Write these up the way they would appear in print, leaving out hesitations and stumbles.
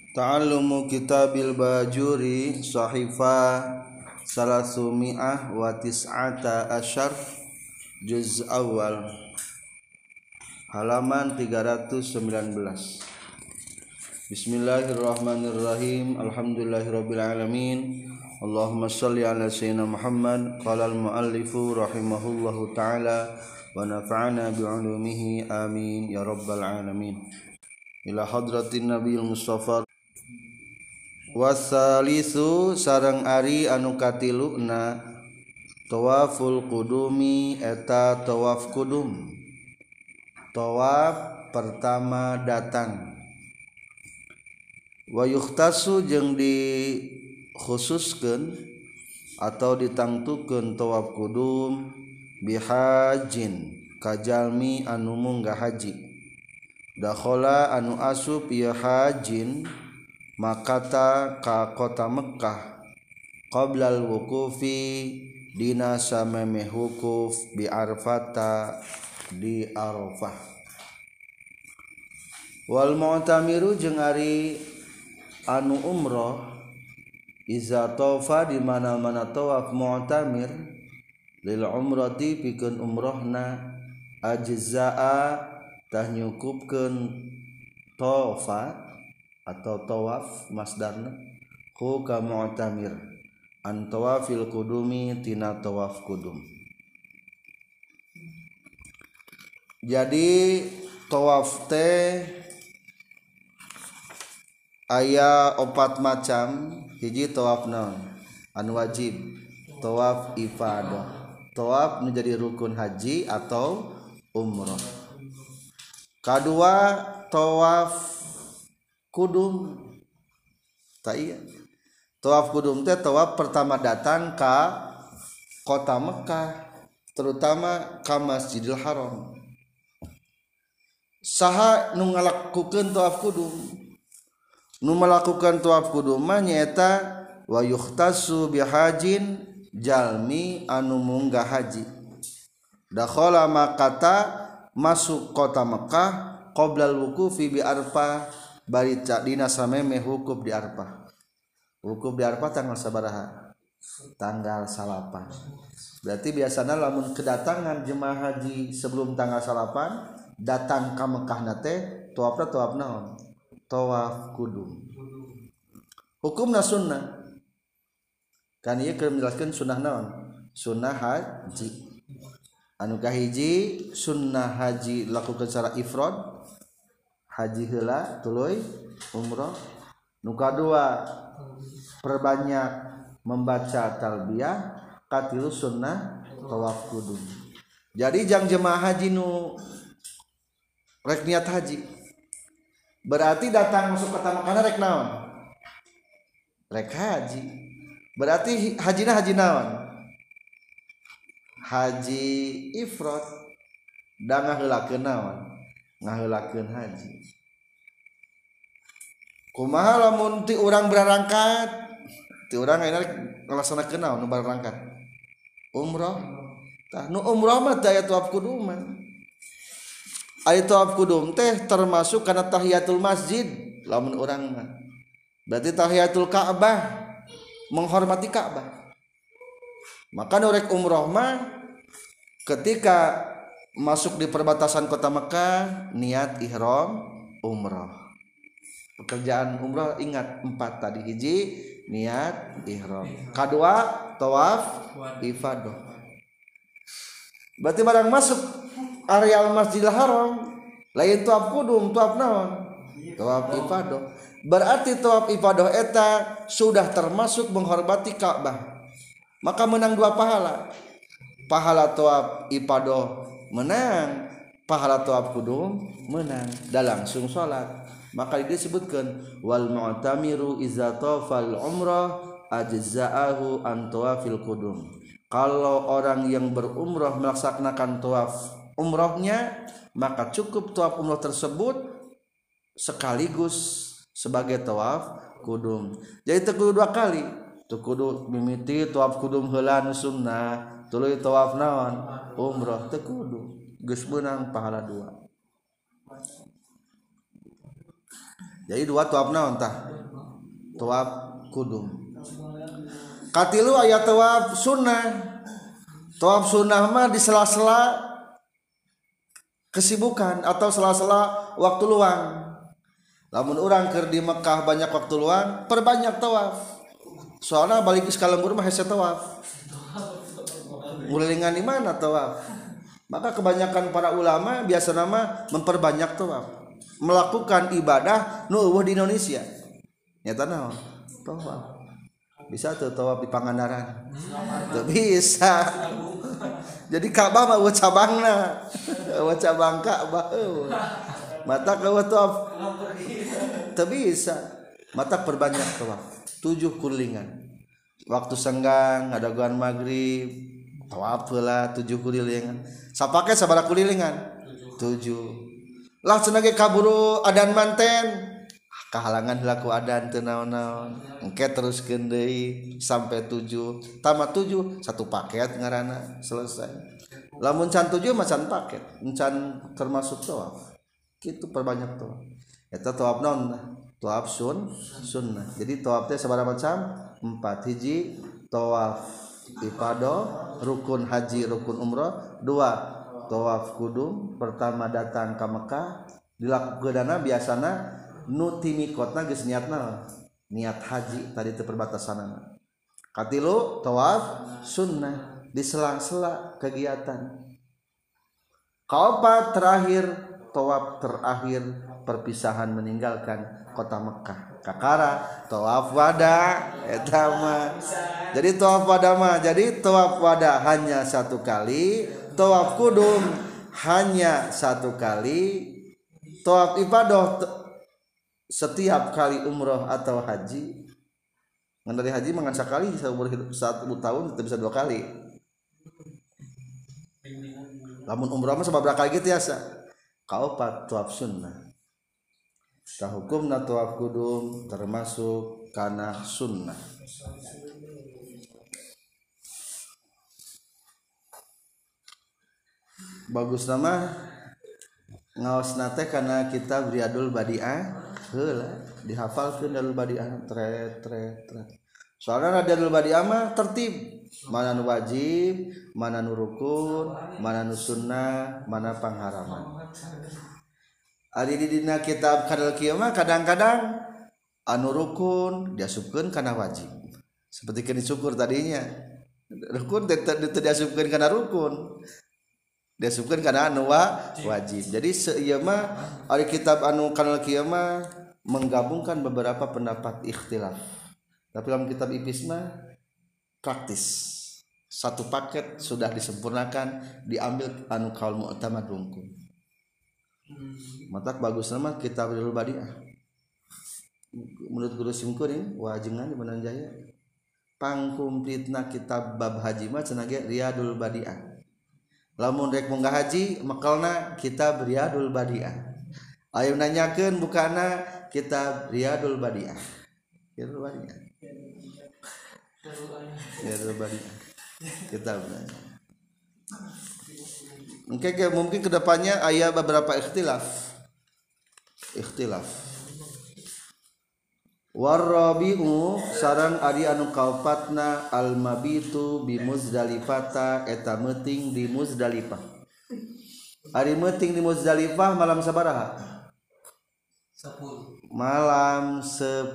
Ta'allumu kitabil bajuri sahifa salasumi'ah wa tis'ata asyar juz awal halaman 319. Bismillahirrahmanirrahim. Alhamdulillahirabbil alamin. Allahumma shalli ala sayyidina Muhammad. Qala al-muallifu rahimahullahu taala wa nafa'ana bi'ulumihi amin ya rabbal alamin. Ila hadratin nabiyil mustafa wasalisu sareng ari anu katiluna tawaful qudumi eta tawaf qudum. Tawaf pertama datang. Wa yukhtasu jeung dikhususkeun atau ditangtukeun tawaf qudum bihajin kajalmi anu munggah haji. Dakhala anu asup ya hajin makata ka kota Mekkah qablal wuqufi dina samemeh wukuf bi Arfata di Arafah. Wal mu'tamiru jeung ari anu umroh iza taufa di mana-mana tawaf mu'tamir lil umrati pikeun umrohna ajzaa tah nyukupkeun taufa atau tawaf masdarna hu ka mu'tamir an tawafil qudumi tina tawaf qudum. Jadi tawaf teh aya 4 macam. Hiji tawaf naon anu wajib, tawaf ifadah, tawaf menjadi rukun haji atau umrah. Kadua tawaf kudum. Tak iya. Tawaf kudum teh tawaf pertama datang ka kota Mekkah, terutama ka Masjidil Haram. Saha nu ngalakukeun tawaf kudum? Nu melakukan tawaf kudum mah nyaeta wa yukhtasu bihajin jalmi anu munggah haji. Dakhala makata masuk kota Mekkah qoblal wuqufi bi Arfah bari dina samemeh wukuf di Arfah. Wukuf di Arfah tanggal sabaraha? Tanggal 8. Berarti biasana lamun kedatangan jemaah haji sebelum tanggal 8 datang ka Mekkah nate tawafna tawaf naon? Tawaf kudum. Hukumna sunnah. Kan ieu keur menjelaskeun sunnah naon? Sunnah haji. Anu kahiji sunnah haji lakukeun secara ifrad, haji heula tuluy umrah. Nu kadua perbanyak membaca talbiyah, katilu sunnah tawaf kudum. Jadi jang jemaah haji nu rek niat haji berarti datang masuk kota Mekkah rek naon? Rek haji. Berarti hajina haji naon? Haji ifrad. Da ngaheulakeun naon? Ngaheulakeun haji. Kumaha lamun ti urang berangkat? Ti urang ayeuna ngalaksanakeun naon nu berangkat? Umrah. Tah nu umrah mah teh aya tawaf kudum. Aya tawaf kudum teh termasuk kana tahiyatul masjid lamun urang mah. Berarti tahiyatul Ka'bah, menghormati Ka'bah. Maka norek umrah mah ketika masuk di perbatasan kota Mekkah niat ihram umrah. Pekerjaan umrah ingat 4 tadi. Hiji niat ihram, kadua tawaf ifadah. Berarti barang masuk areal Masjidil Haram lain tawaf kudum, tawaf naon? Tawaf ifadah. Berarti tawaf ifadah eta sudah termasuk menghormati Ka'bah. Maka menang 2 pahala. Pahala tawaf ifadah menang, pahala tawaf kudum menang. Da langsung salat. Maka disebutkan wal mu'tamiru iza tawafal umrah ajza'ahu an tawafil qudum. Kalau orang yang berumrah melaksanakan tawaf umrahnya, maka cukup tawaf umrah tersebut sekaligus sebagai tawaf kudum. Jadi teu kudu 2 kali. Teu kudu mimiti tawaf kudum heula nu sunnah, tuluy tawaf naon? Umrah. Teu kudu. Geus meunang pahala 2. Jadi 2 tawaf naon tah? tawaf kudum. Katilu aya tawaf sunnah. Tawaf sunnah mah di sela-sela kesibukan atau sela-sela waktu luang. Lamun urang keur di Mekah banyak waktu luang, perbanyak tawaf. Soalnya balik ke Kalembur mah hese tawaf. Ngulilingan di mana tawaf? Maka kebanyakan para ulama biasa nama memperbanyak tawaf, melakukan ibadah nu eueuh di Indonesia. Nyata naon? Tawaf. Bisa tuh tawaf di Pangandaran. Tuh bisa. Jadi Ka'bah mah eueuh cabangna. Eueuh cabang Ka'bah eueuh. Mata eueuh tawaf. Teu bisa. Mata perbanyak tawaf. 7 kulilingan. Waktu senggang ngadaguan maghrib tawaf heula 7 kulilingan. Sapake sabaraha kulilingan? 7. Langsung ge kaburu adan manten. Kahalangan heula ku adan teu naon-naon. Engke teruskeun deui sampai 7. Tamat 7 satu paket ngaranna selesai. Lamun can 7 mah can paket, encan termasuk tawaf. Kitu perbanyak tawaf. Eta tawaf naon? Tawaf sunnah. Jadi tawaf teh sabaraha macam? 4. Hiji tawaf ifadah, rukun haji, rukun umrah. 2 tawaf kudum. Pertama datang ke Mekah, dilakukeunana biasana nu ti mikotna geus niatna niat haji tadi teu perbatasanna. Katilu tawaf sunnah di sela-sela kegiatan. Kaopat terakhir tawaf terakhir perpisahan meninggalkan kota Mekah. Kakara tawaf wada eta mah. Jadi tawaf wada mah jadi tawaf wada hanya 1 kali, tawaf kudum hanya 1 kali, tawaf ifadah setiap kali umroh atau haji. Ngan dari haji mangan sakali saumur hidup 1 tahun itu bisa 2 kali. Lamun umroh mah sababaraha kali ge tiasa. Kaopat tawaf sunnah. Tah hukumna tawaf kudum termasuk kana sunnah. Bagus nama ngaosna teh kana kitab Riyadul Badi'ah heula dihafalkeun Riyadul Badi'ah tret. Soalna Riyadul Badi'ah mah tertib, mana nu wajib, mana nu rukun, mana nu sunnah, mana pangharaman. Ari di dina kitab Kadal Qiyamah kadang-kadang anu rukun diasupkeun kana wajib. Seperti kini syukur tadinya. Rukun teu diasupkeun kana rukun. Diasupkeun kana anu wajib. Jadi seieu mah ari kitab anu Kadal Qiyamah menggabungkan beberapa pendapat ikhtilaf. Tapi dalam kitab Ipis mah praktis. 1 paket sudah disempurnakan, diambil anu kaul mu'tamad rungkun. Matak bagus nama kitab Riyadul Badi'ah. Menurut Guru Simkuring wajengan di Mananjaya pangkumplitna kitab bab haji mah cenah ge Riyadul Badi'ah. Lamun rek munggah haji makalna kitab Riyadul Badi'ah. Ayo nanyakeun bukana kitab Riyadul Badi'ah. Riyadul Badi'ah. Riyadul Badi'ah. Kitabna. Mungkin kedepannya aya beberapa ikhtilaf. Warabi'u sareng ari anu kaopatna al-mabitu bi Muzdalifah eta meuting di Muzdalifah. Ari meuting di Muzdalifah malam sabaraha? 10. Malam 10.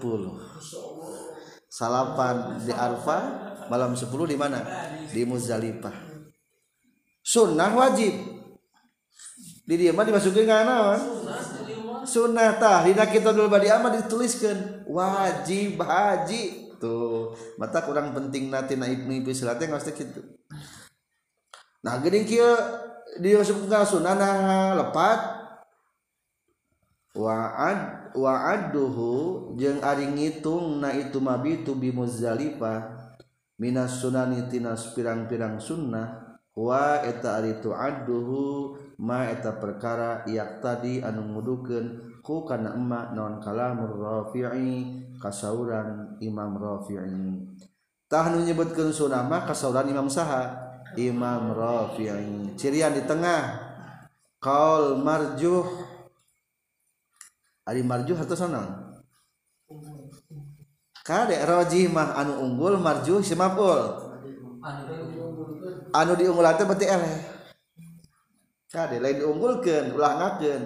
Salapan di Arafah, malam 10 di mana? Di Muzdalifah. Sunnah wajib. Di dieu mah dimasukeun ka naon? Sunnah tah dina kitabul Badi'ah mah dituliskeun wajib haji. Tuh, mata kurang penting tina Ibnu Bisri teh ngaos teh kitu. Nah, geuning kieu dimasukeun ka sunnah nah lepat wa'adduhu jeung ari ngitungna itu mabitu bi Muzdalifah minas sunani tina pirang-pirang sunnah. Wa eta ari tu'adduhu ma eta perkara yak tadi anu ngudukeun ku kana emma naon kalamur Rafi'i kasauran Imam Rafi'i. Tah nu nyebutkeun sunnah mah kasauran Imam saha? Imam Rafi'i. Cirian di tengah qaul marjuh. Ari marjuh atau naon? kade rajih mah anu unggul marjuh si maf'ul anu diunggulkan teh berarti eleh kade lain diunggulkeun ulah ngakeun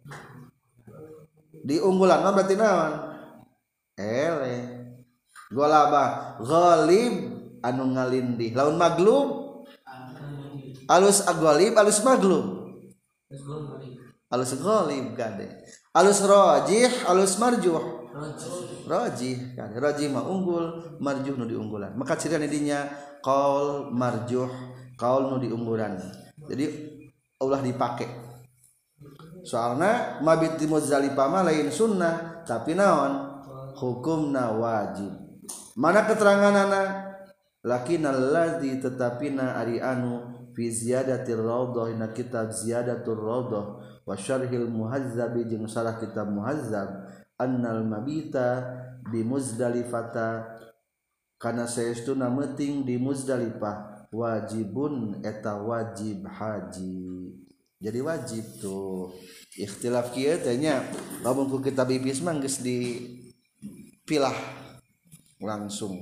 diunggulan mah berarti naon eleh golaba ghalib anu ngalindih laun maglub alus aghalib alus maglub alus ghalib kade alus rajih alus marjuh rajih kade rajih mah unggul marjuh nu diunggulan maka cirian dinya qaul marjuh qaul nu diunggulan jadi ulah dipake soalna mabit di Muzdalifah mah lain sunnah tapi naon hukumna wajib mana keteranganana lakinnal ladzi tetapina ari anu fi ziyadatir raudhah ina kitab ziyadatur raudhah wa syarhil muhazzab jeung sarah kitab muhazzab annal mabita di Muzdalifata kana saestuna meuting di Muzdalifah wajibun eta wajib haji jadi wajib tuh ikhtilaf kieu teh nya lamun ku kitab ibis mah geus dipilah langsung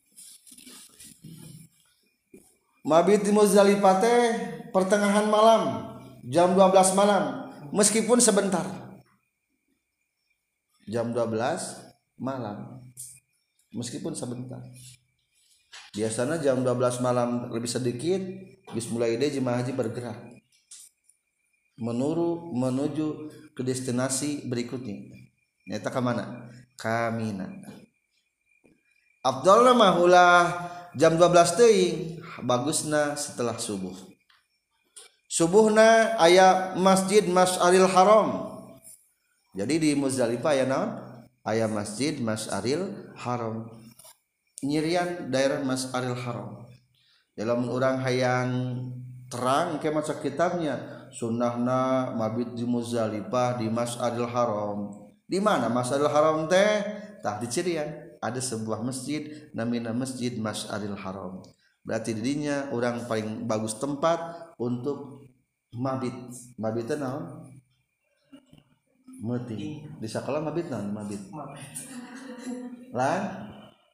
mabit di Muzdalifah teh pertengahan malam jam 12 malam meskipun sebentar jam 12 malam meskipun sebentar biasanya jam 12 malam lebih sedikit bis mulai ide jemaah haji bergerak menuju ke destinasi berikutnya nyata ke mana ka Mina afdalna mah ulah jam 12 teuing bagusna setelah subuhna aya masjid Masy'aril Haram jadi di Muzdalifah aya naon aya masjid Masy'aril Haram nyirian daerah Masy'aril Haram dalam urang hayang terang ke maca kitabnya sunnahna mabit di Muzdalifah di Masy'aril Haram di mana Masy'aril Haram teh tah di cirian ada sebuah masjid namina Masjid Masy'aril Haram berarti dirinya orang paling bagus tempat untuk mabit teh naon meuting di sakola mabit naon mabit lah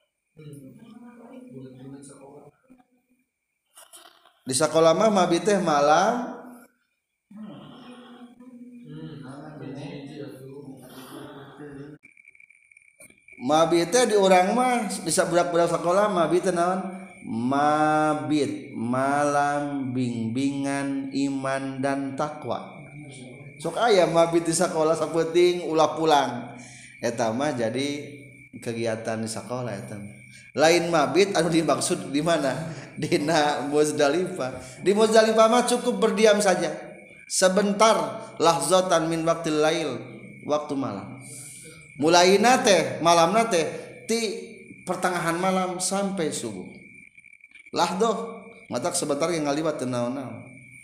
di sekolah mah mabit teh malam mabit teh di urang mah bisa budak-budak sekolah mabit teh naon mabit malam bimbingan iman dan takwa sok aya mabit di sekolah sapenting ulah pulang eta mah jadi kegiatan di sekolah eta lain mabit anu dimaksud di mana dina Muzdalifah di Muzdalifah mah cukup berdiam saja sebentar lahzatan min waqtil lail waktu malam mulaina teh malamna teh ti pertengahan malam sampai subuh lahdoh matak sebentar yang ngaliwat teu naon-naon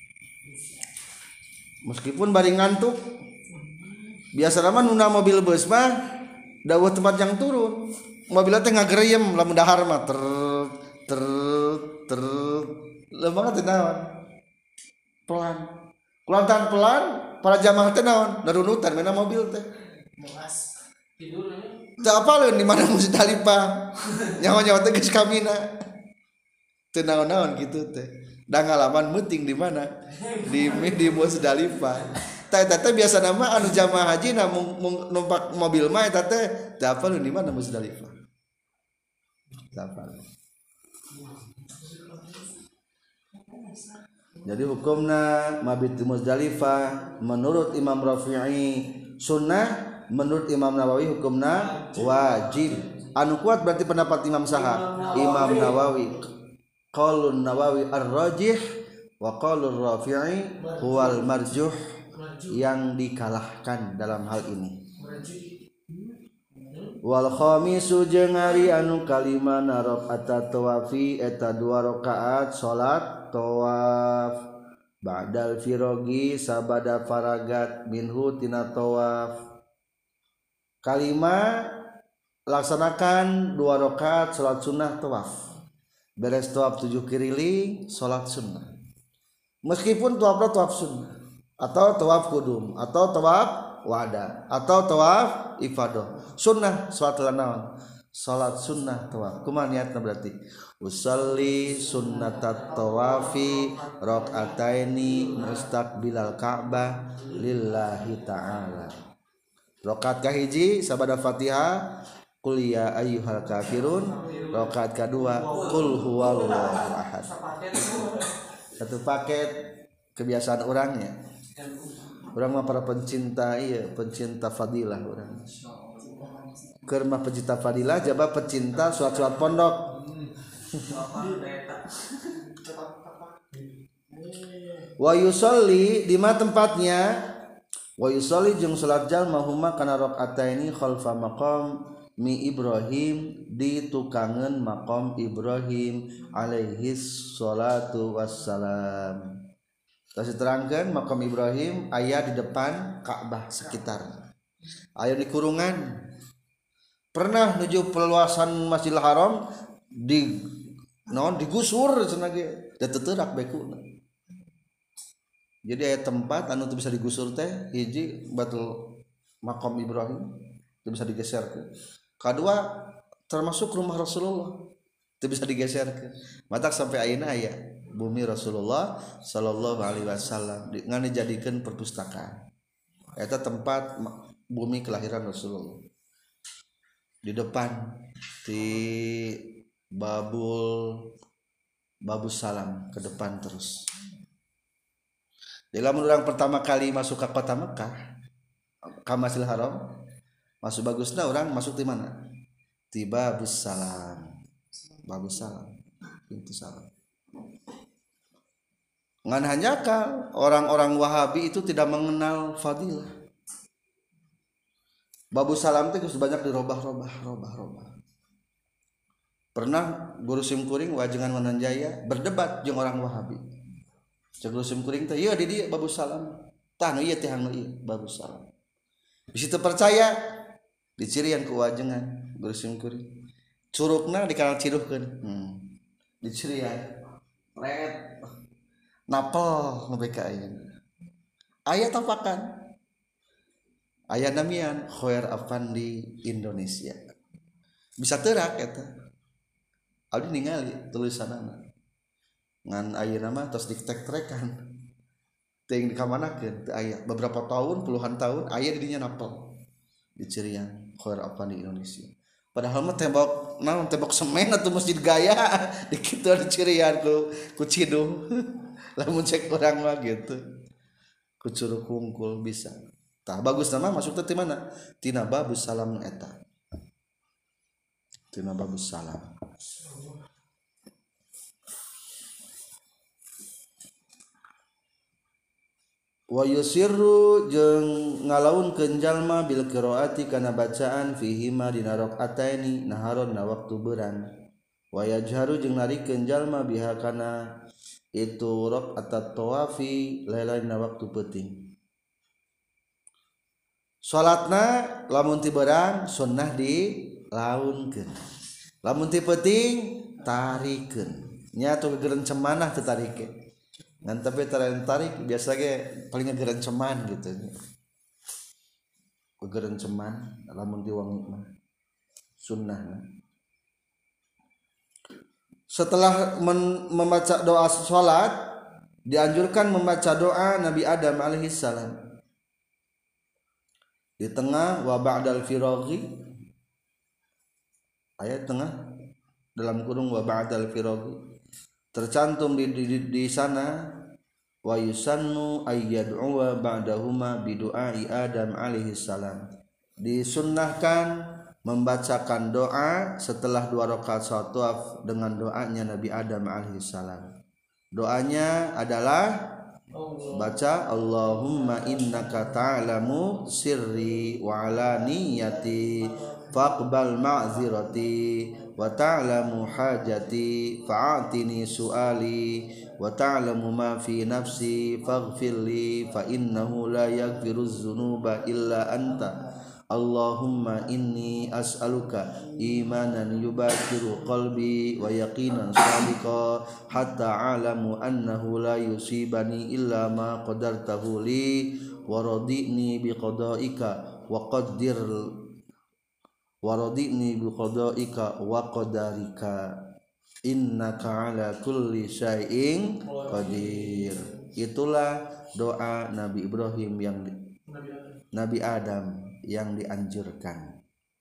meskipun bari ngantuk biasa mah nuna mobil bus mah dawuh tempat yang turun mobilnya teh ngagereyem lamun dahar mah ter lemah teh naon pelan kulantan pelan para jamaah teh naon darunutan mena mobil teh tidur teh apaleun di mana Muzdalifah nyawa-nyawa teh geus kamina teu naon-naon kitu teh da ngalaman meuting di mana di Muzdalifah teh biasa nama anu jamaah haji na numpak mobil mah eta teh teu apaleun di mana Muzdalifah jadi hukumna mabit di Muzdalifah menurut Imam Rafi'i sunnah menurut Imam Nawawi hukumna wajib anu kuat berarti pendapat Imam Saha Imam Nawawi qaulun Nawawi ar-rajih wa qaulur Rafi'i huwal marjuh yang dikalahkan dalam hal ini wal khamisu jeung ari anu kalima rakaat tawafi eta 2 rakaat salat tawaf ba'dal firogi sabada faragat minhu tina tawaf kalima laksanakan 2 rakaat salat sunnah tawaf beres tawaf 7 keliling salat sunnah meskipun tawafna tawaf sunnah atau tawaf kudum atau tawaf wada atau tawaf ifadah sunnah salat naon salat sunnah tawaf kumaha niatna berarti usolli sunnatat tawafi rakaataini mustaqbilal ka'bah lillahi ta'ala. Rakaat kahiji sabada Fatihah qul ya ayyuhal kafirun, rakaat kadua qul huwallahu ahad. Satu paket kebiasaan orangnya. Orang mah para pencinta pencinta fadilah orang. Keur mah pencinta fadilah jaba pencinta suat-suat pondok. Wa yusolli di mana tempatnya? Wa yusolli jeung salat jalma huma kana rakaataini khalfa maqam mi Ibrahim di tukangan maqam Ibrahim alaihi salatu wassalam. Terus diterangkan maqam Ibrahim aya di depan Ka'bah sekitar. Aya di kurungan. Pernah nuju peluasan Masjidil Haram digusur cenah ge da teu teurak bekuna. Jadi aya tempat anu teu bisa digusur teh hiji batul maqam Ibrahim teu bisa digeserkeun. Kadua termasuk rumah Rasulullah teu bisa digeserkeun. Matak sampai ayeuna aya bumi Rasulullah sallallahu alaihi wasallam ngan dijadikeun perpustakaan. Eta tempat bumi kelahiran Rasulullah. Di depan di Babus Salam ke depan terus. Dalam orang pertama kali masuk ke kota Mekah, ke Masjidil Haram, masuk bagusnya orang masuk di mana? Di Babus Salam. Babus Salam. Pintu salam. Ngan hanya kan orang-orang Wahabi itu tidak mengenal fadilah. Babus Salam itu banyak dirobah-robah. Pernah Guru Simkuring wajengan Wananjaya berdebat jeung orang Wahabi. Cek Guru Simkuring teh ieu di dieu Babus Salam. Tah nu ieu teh anu ieu Babus Salam. Bisi teu percaya dicirian ku wajengan Guru Simkuring. Curugna dikanal ciruhkeun. Dicirian. Ret. Napel nu beka ayeuna. Aya tapakan. Aya namian Khoer Afandi Indonesia. Bisa teurak eta. Abdi ningali tulisanana. Ngan ayeuna mah tos ditek-tekan. Teuing dikamanakeun teu aya. Beberapa tahun, puluhan tahun aya di dinya napel. Dicirian Khoer Afandi Indonesia. Padahal mah tembok semen atau masjid gaya dikitu dicirian ku Cidung. Lamun cek urang mah gitu. Ku Curug Hungkul bisa. Tah bagus nama masuk teh mana? Tina Babus Salam eta. Tina Babus Salam. Wa yusirru jeung ngalaunkeun jalma bil qiraati kana bacaan fihi ma dina rakaataini naharon na waktu beuran. Wa yajharu jeung narikeun jalma biha kana itu rakaatat tawafi lain na waktu peuting. Salatna lamun ti beurang sunnah dilaunkeun. Lamun ti peuting tarikeun. Nya atuh gerencemanah teu tarikeun. Ngan tapi tarik biasa ge paling gerenceman gitu. Gerenceman lamun diwangi mah sunnahna. Setelah membaca doa salat dianjurkan membaca doa Nabi Adam alaihi salam. Di tengah wa ba'dal firaghi ayat tengah dalam kurung wa ba'dal firaghi tercantum di sana wa yusannu ayyad'u ba'dahuma bidu'ai Adam alaihi salam. Disunnahkan membacakan doa setelah 2 rakaat salat tawaf dengan doanya Nabi Adam alaihi salam. Doanya adalah baca Allahumma innaka ta'lamu sirri wa alaniyati faqbal ma'zirati wa ta'lamu hajati fa'atini su'ali wa ta'lamu ma fi nafsi faghfirli fa innahu la yaghfiruz dzunuba illa anta Allahumma inni as'aluka imanan yubakiru qalbi wa yaqinan sadiqa hatta a'lamu annahu la yusibani illa ma qadartahu li wa radini bi qadaika wa qaddir waradini bi qadaika wa qadarika innaka ala kulli syai'in qadir. Itulah doa Nabi Ibrahim yang Nabi Adam yang dianjurkan.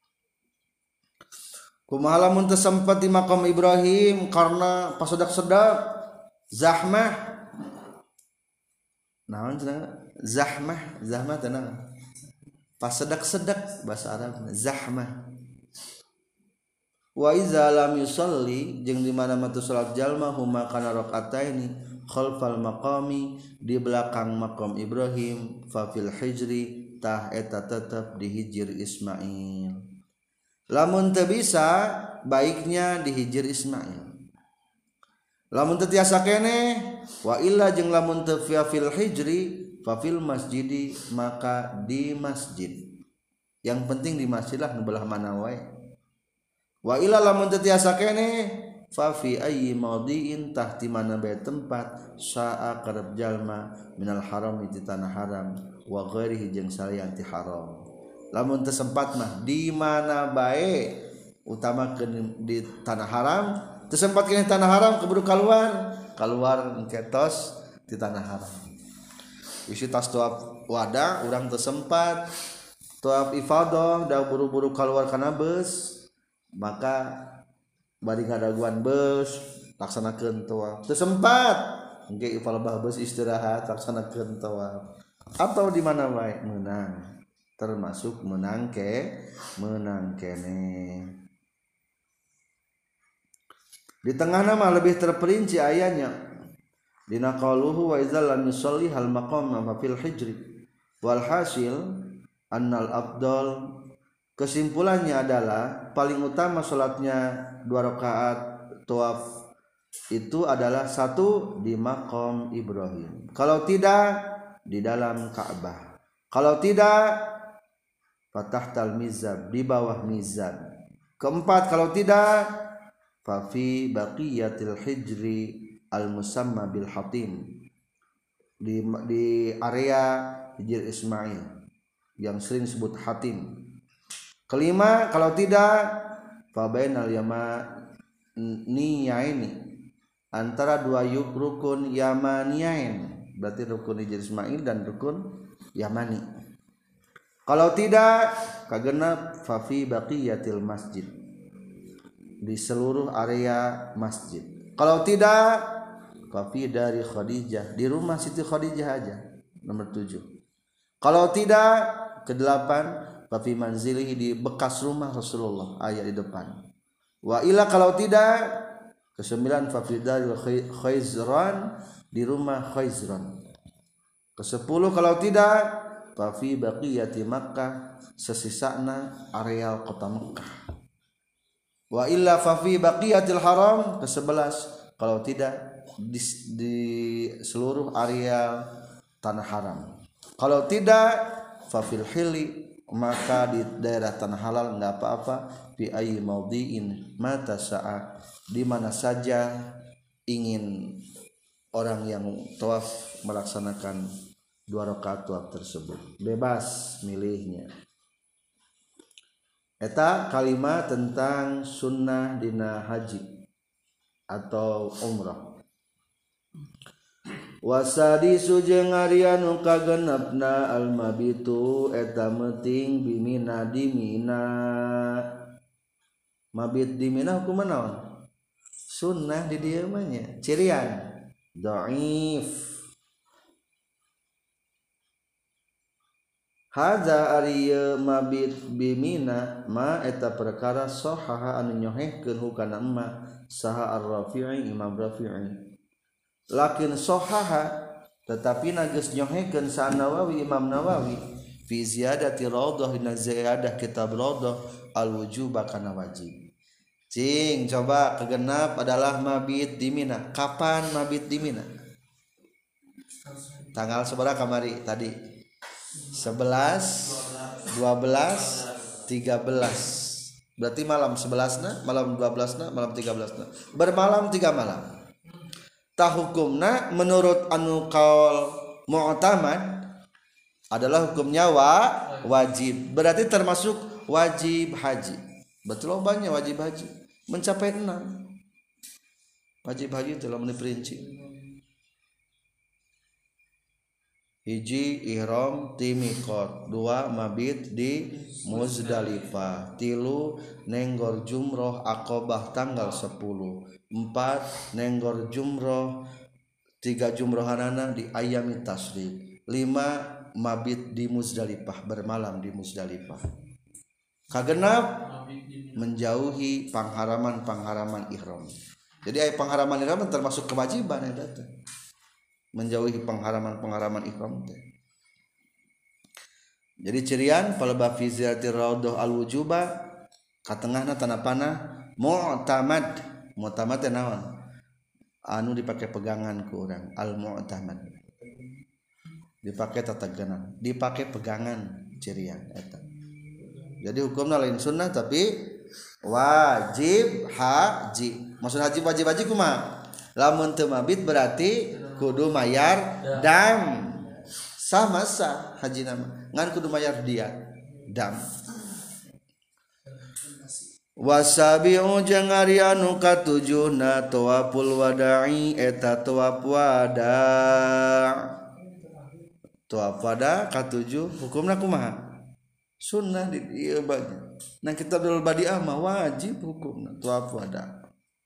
Kumaha lamun teu sempat di makam Ibrahim karena pasedak-sedak zahmah. Naon cenah? Zahmah teh naon? Pasedak-sedak bahasa Arab zahmah. Wa iza lam yusalli jeung di mana matu salat jalma huma kana rakaataini khalfal maqami di belakang makam Ibrahim fa fil hijri tah eta tetep di hijir Ismail. Lamun teu bisa baiknya di hijir Ismail. Lamun teu tiasa keneh wa illa jeung lamun teu fil hijri fa fil masjidi maka di masjid. Yang penting di masjid lah nu belah mana wae. Wa ila lamun teu tiasa keneh fa fi ayyi mawdi'in tahti mana bae tempat sa'a qarab jalma minal haram di tanah haram wa ghairihi jeung salian ti haram. Lamun teu sempat mah di mana bae utamakeun di tanah haram, teu sempat keneh tanah haram keburu keluar ketos di tanah haram. Isi tas tuap wada urang teu sempat tuap ifadah da buru-buru keluar kana beus maka bari ngadaguan beus laksanakeun tawaf. Teu sempat engke ifalbah beus istirahat laksanakeun tawaf. Atau di mana wae meunang termasuk menang kene. Di tengahna mah lebih terperinci ayatnya. Dina qauluhu wa idzal lam yusalli hal maqam fa fil hijri wal hasil annal afdal. Kesimpulannya adalah paling utama salatnya 2 rakaat tawaf itu adalah 1 di maqam Ibrahim. Kalau tidak di dalam Ka'bah. Kalau tidak fatahtal mizab di bawah mizab. Keempat kalau tidak fa fi baqiyatil hijri al musamma bil hatim di area hijr Ismail yang sering disebut hatim. Kelima kalau tidak fa bainal yamaniyaini antara 2 rukun yamaniyain berarti rukun hijr Ismail dan rukun yamani. Kalau tidak kagenap fa fi baqiyatil masjid di seluruh area masjid. Kalau tidak fa fi dari Khadijah di rumah Siti Khadijah aja nomor 7. Kalau tidak ke-8 fa fi manzilihi di bekas rumah Rasulullah ayat di depan. Wa ila kalau tidak ke-9 fa fi dari Khaizran di rumah Khaizran. Ke-10 kalau tidak fa fi baqiyati Makkah sesisana areal kota Mekah. Wa illa fa fi baqiyatil haram ke-11 kalau tidak di seluruh areal tanah haram. Kalau tidak fa fil hili maka di daerah tanah halal enggak apa-apa fi ayyi mawdi'in mata sa'a di mana saja ingin orang yang tawaf melaksanakan 2 rakaat tawaf tersebut bebas milihnya. Eta kalimat tentang sunnah dina haji atau umrah. Wasadi sujeng arianu kagenepna almabitu eta meting bimina di Mina. Mabit di Mina hukum naon? Sunnah di dieu mah nya cirian dhaif. Hadza arieu mabit bimina ma eta perkara sahaha anu nyohehkeun hukana emma saha ar-Rafi'i Imam Rafi'i. Lakin sahaha tetapi nageus nyohekeun sa Nawawi Imam Nawawi fi ziyadati raudhah dina ziyadah kitab raudhah al-wujub kana wajib. Cing coba kegenap adalah mabit di Mina. Kapan mabit di Mina? Tanggal sabaraha kamari tadi? 11, 12, 13. Berarti malam 11-na, malam 12-na, malam 13-na. Bermalam 3 malam. Ta hukumna menurut anu qaul mu'tamad adalah hukumnya wajib. Berarti termasuk wajib haji. Betul banyak wajib haji mencapai 6. Wajib haji telah diperinci. Hiji ihram ti miqat, 2 mabit di Muzdalifah, 3 nenggor jumroh Aqabah tanggal 10, 4 nenggor jumroh 3 jumrohanana di ayami tasrik, 5 mabit di Muzdalifah, bermalam di Muzdalifah. Kagenap menjauhi pengharaman ihram. Jadi pengharaman ihram termasuk kewajiban eta teh. Menjauhi pengharaman ihram teh. Jadi cirian paleba fi ziyarati raudhah al-wujuba katengahna tanapana mu'tamad. Mu'tamad teh naon? Anu dipake pegangan ku urang, al-mu'tamad. Dipake tatagenan, dipake pegangan cirian eta. Jadi hukumna lain sunnah tapi wajib haji. Maksud haji wajib kumaha? Lamun teu mabit berarti kudu mayar dam. Sama sah haji nama ngan kudu mayar dia dam. Wasabi'u jeung ari anu katujuhna tawaful wada'i eta tawaf wada'. Tawaf wada katujuh hukumna kumaha? Sunnah di ieu bagi. Nah kitabul badi'ah mah wajib hukumna tawaf wada'.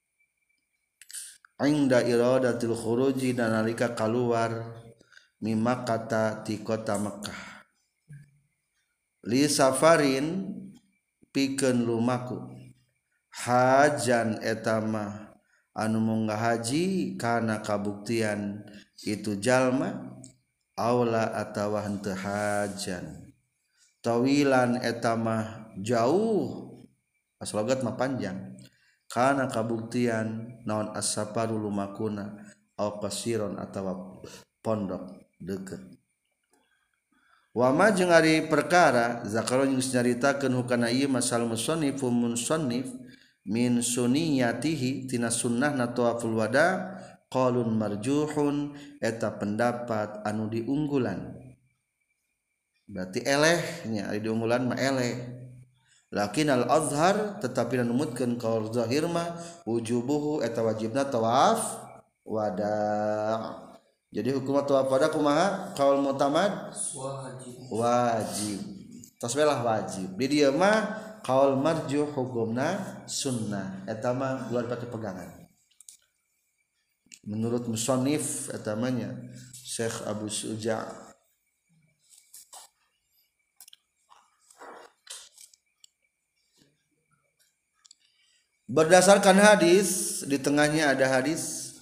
Inda iradatil khuruji dan nalika keluar mimakata ti kota Mekah li safarin pikeun lumaku hajan etama anu munggah haji kana kabuktian itu jalma aula atawa henteu hajan tawilan etama jauh aslogat mah panjang kana kabuktian naon as-safaru lumakuna au qasiron atawa pondok deukeut. Wa ma jeung ari perkara zakaro geus nyaritakeun hukana ieu masal musannif min sunniyatihi tina sunnahna tawaful wada qaulun marjuhun eta pendapat anu diunggulan. Berarti elehnya ari diunggulan mah eleh. Lakin al-azhar tetapi numutkeun qaul zahir mah wujubuhu eta wajibna tawaf wada. Jadi hukum tawaf wada kumaha? Qaul mu'tamad wajib. Tos belah wajib. Di dieu mah qaul marjuh hukumna sunnah. Eta mah luar pake pegangan. Menurut musannif eta mah nya Syekh Abu Suja' berdasarkan hadis, di tengahnya ada hadis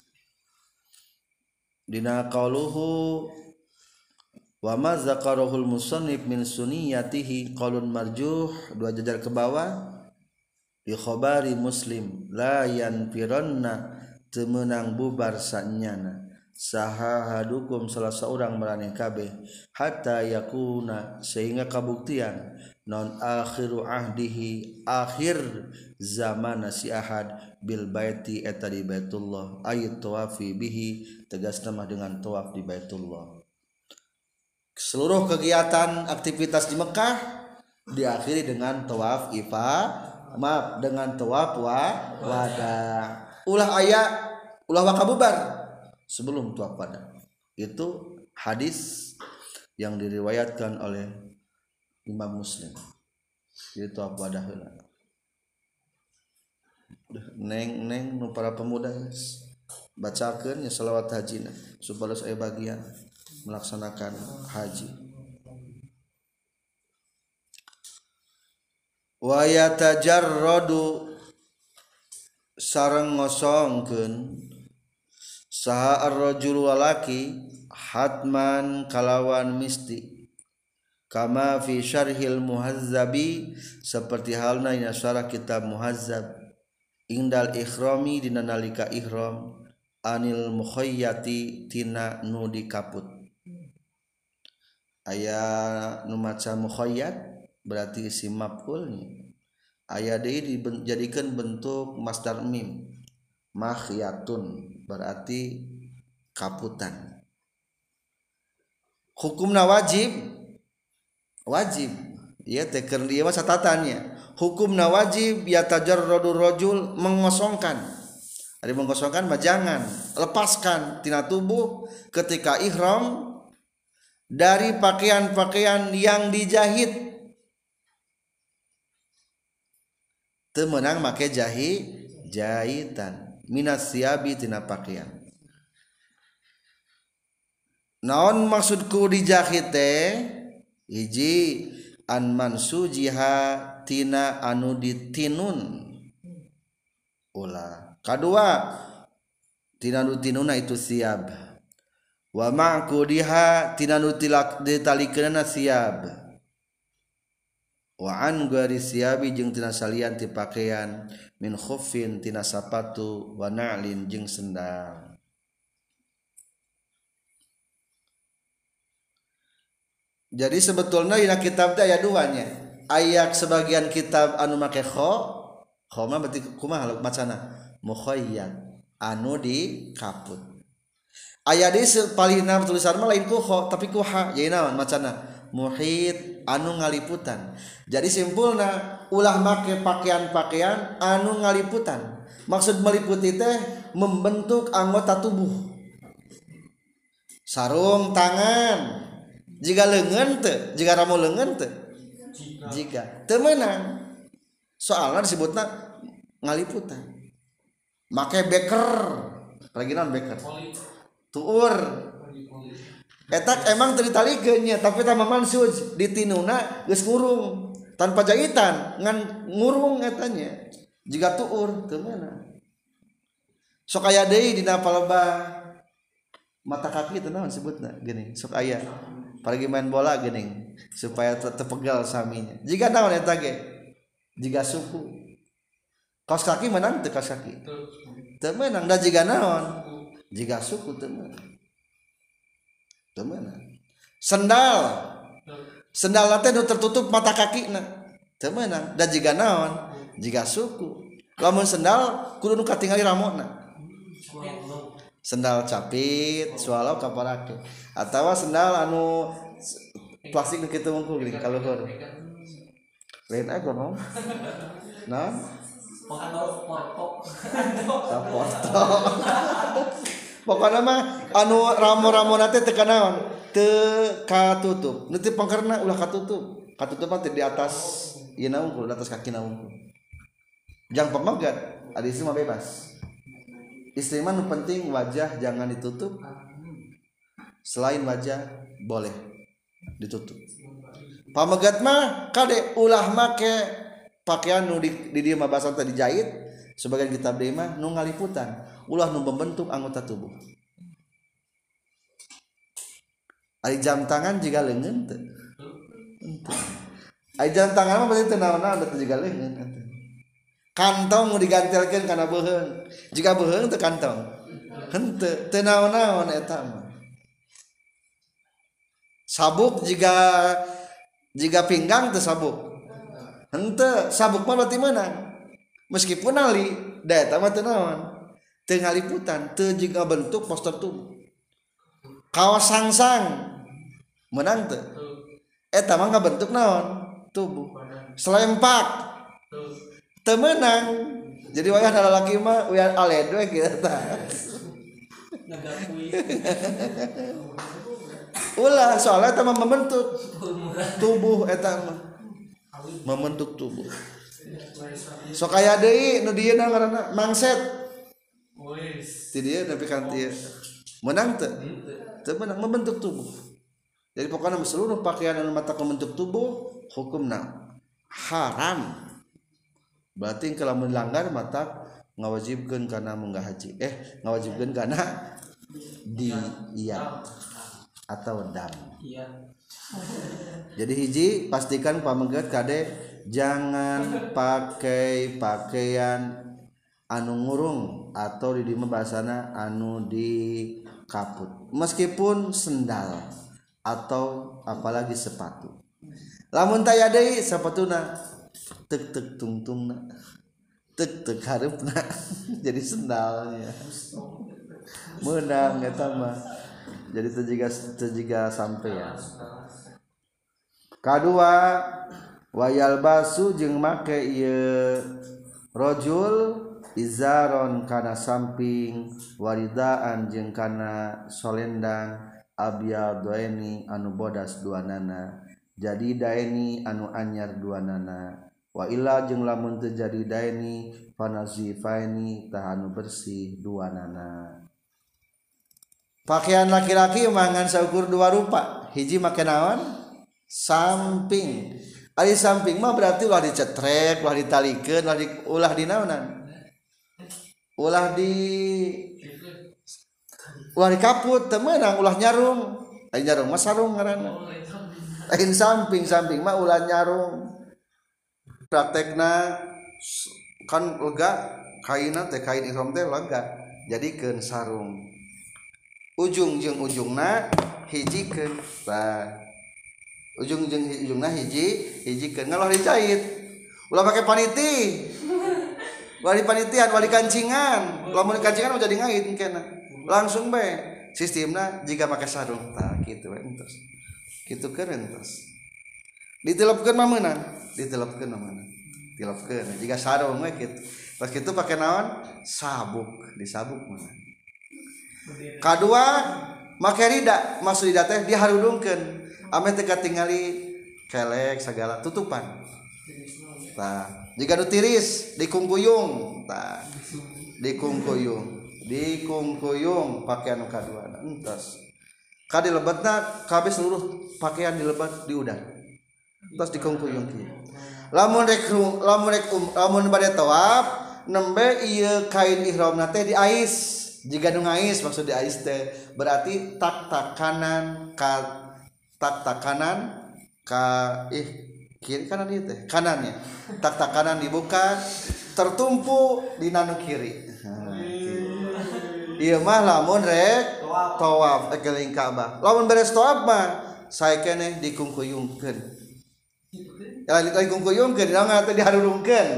dina qauluhu wa ma zakarahul musannif min sunniyatihi qaulun marjuh, 2 jajar ke bawah di khabari Muslim la yanfiranna teu meunang bubar sanyana sahahadukum salah seorang maraneh kabeh hatta yakuna sehingga kabuktian non akhiru ahdihi akhir zaman si ahad bil baiti eta di Baitullah ayat tawafi bihi tegasna mah dengan tawaf di Baitullah. Seluruh kegiatan aktivitas di Mekah diakhiri dengan tawaf dengan tawaf wada. Ulah wakabubar sebelum tawaf wada. Itu hadis yang diriwayatkan oleh Imam Muslim. Itu tawaf wada heula. Neng nu para pemuda bacakeun nya selawat hajina supados aya bagian melaksanakan haji. Wa yatajarradu sareng ngosongkeun saha ar-rajul walaki hatman kalawan misti kama fi syarhil muhazzabi seperti halna ina syarah kitab muhazzab indal ikhrami dina nalika ihram anil mukhayyati tina nu dikaput. Aya nu maca mukhayyat berarti isim maf'ulnya aya deui dijadikeun bentuk masdar mim makhyatun berarti kaputan. Hukumna wajib Iya teh keur ieu mah catatannya. Hukumna wajib yatajarradu rajul mengosongkan. Ari mengosongkan mah jangan lepaskan tina tubuh ketika ihram dari pakaian-pakaian yang dijahit. Teu meunang make jahitan minas siabi tina pakaian. Naon maksudku dijahit teh? Hiji an mansujiha tina anu ditinun ulah. Kadua tina anu tinuna itu siab. Wa ma'qudiha tina anu ditalikeunna siab. Wa an gari siabi jeung tina salian ti pakaian min khuffin tina sapatu wa na'lin jeung sendal. Jadi sebetulnya dina kitab teh aya duanya. Aya sebagian kitab anu make kho mah berarti kumaha macana? Mukhayyad anu di kaput. Aya di palihna tulisan mah lain ku kho tapi ku ha. Jadi naon macana? Muhit anu ngaliputan. Jadi simpulna ulah make pakaian-pakaian anu ngaliputan. Maksud meliputi teh membentuk anggota tubuh. Sarung tangan. Jika leungeun teu, jika ramo leungeun teu. Jika teu meunang. Soalna disebutna ngaliputan. Make beker. Lagi naon beker? Tuur. Eta emang teu ditalikeun nya, tapi tah mansuj ditinuna geus ngurung tanpa jahitan ngan ngurung eta nya. Jika tuur teu meunang. Sok aya deui dina palebah mata kaki teh naon sebutna geuning sok aya paragi main bola geuning supaya terpegal saminya jika naon eta ge jika suku kaos kaki menang teu kaos kaki teu meunang da jika naon jika suku teu meunang sendal teh nu tertutup mata kakina teu meunang da jika naon jika suku lamun sendal kudu nu katingali ramona sendal capit swallow kaparake atawa sendal anu plastik nu kitu mungkul geuning kaluhur lain aya no nah porto pokona mah anu ramo-ramona teh teu kanaon teu katutup nu teu pangkerna ulah katutup mah teh di atas ieu na unggul di atas kaki na unggul jang pamagat adi mah bebas. Istri mah nu penting wajah jangan ditutup. Selain wajah boleh ditutup. Pamegat mah kade ulah make pakaian nu di dieu mah basa teh dijahit, sebagian kitab deui mah nu ngaliputan, ulah nu membentuk anggota tubuh. Ari jam tangan jiga leungeun teu? Henteu. Ari jam tangan mah berarti teu naon-naon teu jiga leungeun atuh. Kantong mau digantelkeun kana beuheung. Jika beuheung teu kantong. Henteu, teu naon-naon eta mah. Sabuk jika pinggang teu sabuk. Henteu, sabuk mah berarti meunang. Meskipun ali, da eta mah teu naon. Teu ngaliputan, teu jiga bentuk postur tubuh. Kaos sangsang meunang teu? Eta mah ngabentuk naon? Tubuh. Selempak temenang jadi wayah ada laki mah wayah aled we kitu tah ulah soalnya eta mah membentuk tubuh eta mah membentuk tubuh sok aya deui nu dieuna ngaranna mangset ti dieu nepi ka dieu meunang teu teu meunang membentuk tubuh jadi pokoknya seluruh pakaian anu mata membentuk tubuh hukumna haram. Berarti kalau melanggar mata ngawajibkeun kana munggah haji ngawajibkeun kana diat atau dam. Jadi hiji pastikan pamegat kade jangan pakai pakaian anu ngurung atau di dieu bahasana anu di kaput meskipun sendal atau apalagi sepatu. Lamun taya deui sapatuna tek tungtungna tek hareupna jadi sendalnya meunang eta mah jadi teu jiga sampean. Kadua wayal basu jeung make ieu rajul izaron kana samping waridaan jeung kana solendang abyadaini anu bodas duanana jadi daeni anu anyar duanana wa illa jeung lamun teu jadi daeni fanazifaini tah anu bersih duanana. Pakaian laki-laki mangan saukur dua rupa hiji make naon samping ari samping mah berarti ulah dicetrek ulah ditalikeun ulah di naonan ulah dikaput temenang ulah nyarung ai nyarung mah sarung ngaranna lain samping mah ulah nyarung praktekna kan lega kainna teh kain ihram teh lega jadikeun sarung ujung jeung ujungna hijikeun tah ujung jeung ujungna hijikeun ngalah dijahit ulah make paniti wali panitian wali kancingan lamun kancingan mah jadi ngait engkena langsung bae sistemna jika make sarung tah kitu we entos kitu keureun entos ditelepkeun mah meunang ditelepkeun mah meunang tilepkeun jika sarung we kitu pas kitu pake naon sabuk disabuk mah kadua make rida maksud rida teh diharudungkeun ame teh katingali kelek sagala tutupan tah jika nu tiris dikungkuyung tah dikungkuyung pakaian nu kadua entos ka dilebetna kabeh seluruh pakaian dilebat di udara terus dikungkuyung kieu lamun bade tawaf nembe ieu kain ihramna teh diais jika nu ngais maksud diais teh berarti tak kanan ka kiri kanan ieu teh kanannya tak kanan dibuka tertumpu di nanu kiri ieu mah lamun rek tawaf keliling Ka'bah lamun beres tawaf mah sae keneh dikungkuyungkeun dikungkuyungkeun naon teh diharudungkeun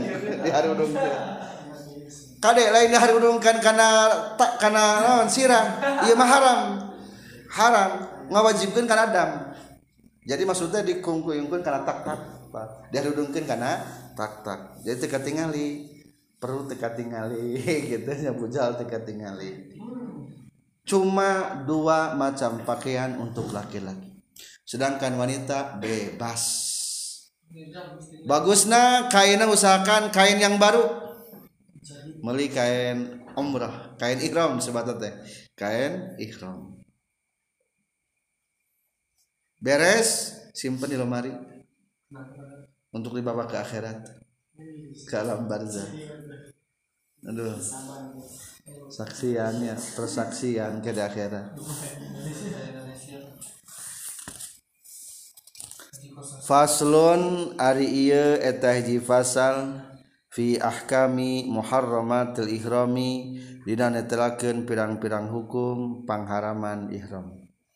kade lain diharudungkeun kana naon sirah ieu mah haram ngawajibkeun kana dam jadi maksudnya dikungkuyungkeun kana tak diharudungkeun kana tak jadi teu katingali perlu teu katingali gitu nya bujal teu katingali cuma dua macam pakaian untuk laki-laki sedangkan wanita bebas bagusna kainna usahakan kain yang baru meuli kain umrah kain ihram disebutna teh kain ihram beres simpen di lemari untuk dibawa ke akhirat ke alam barzah aduh saksiannya persaksian ke akhirat faslun ari ieu eta hiji fasal fi ahkami muharramatil ihrami dina netelakeun pirang-pirang hukum pangharaman ihram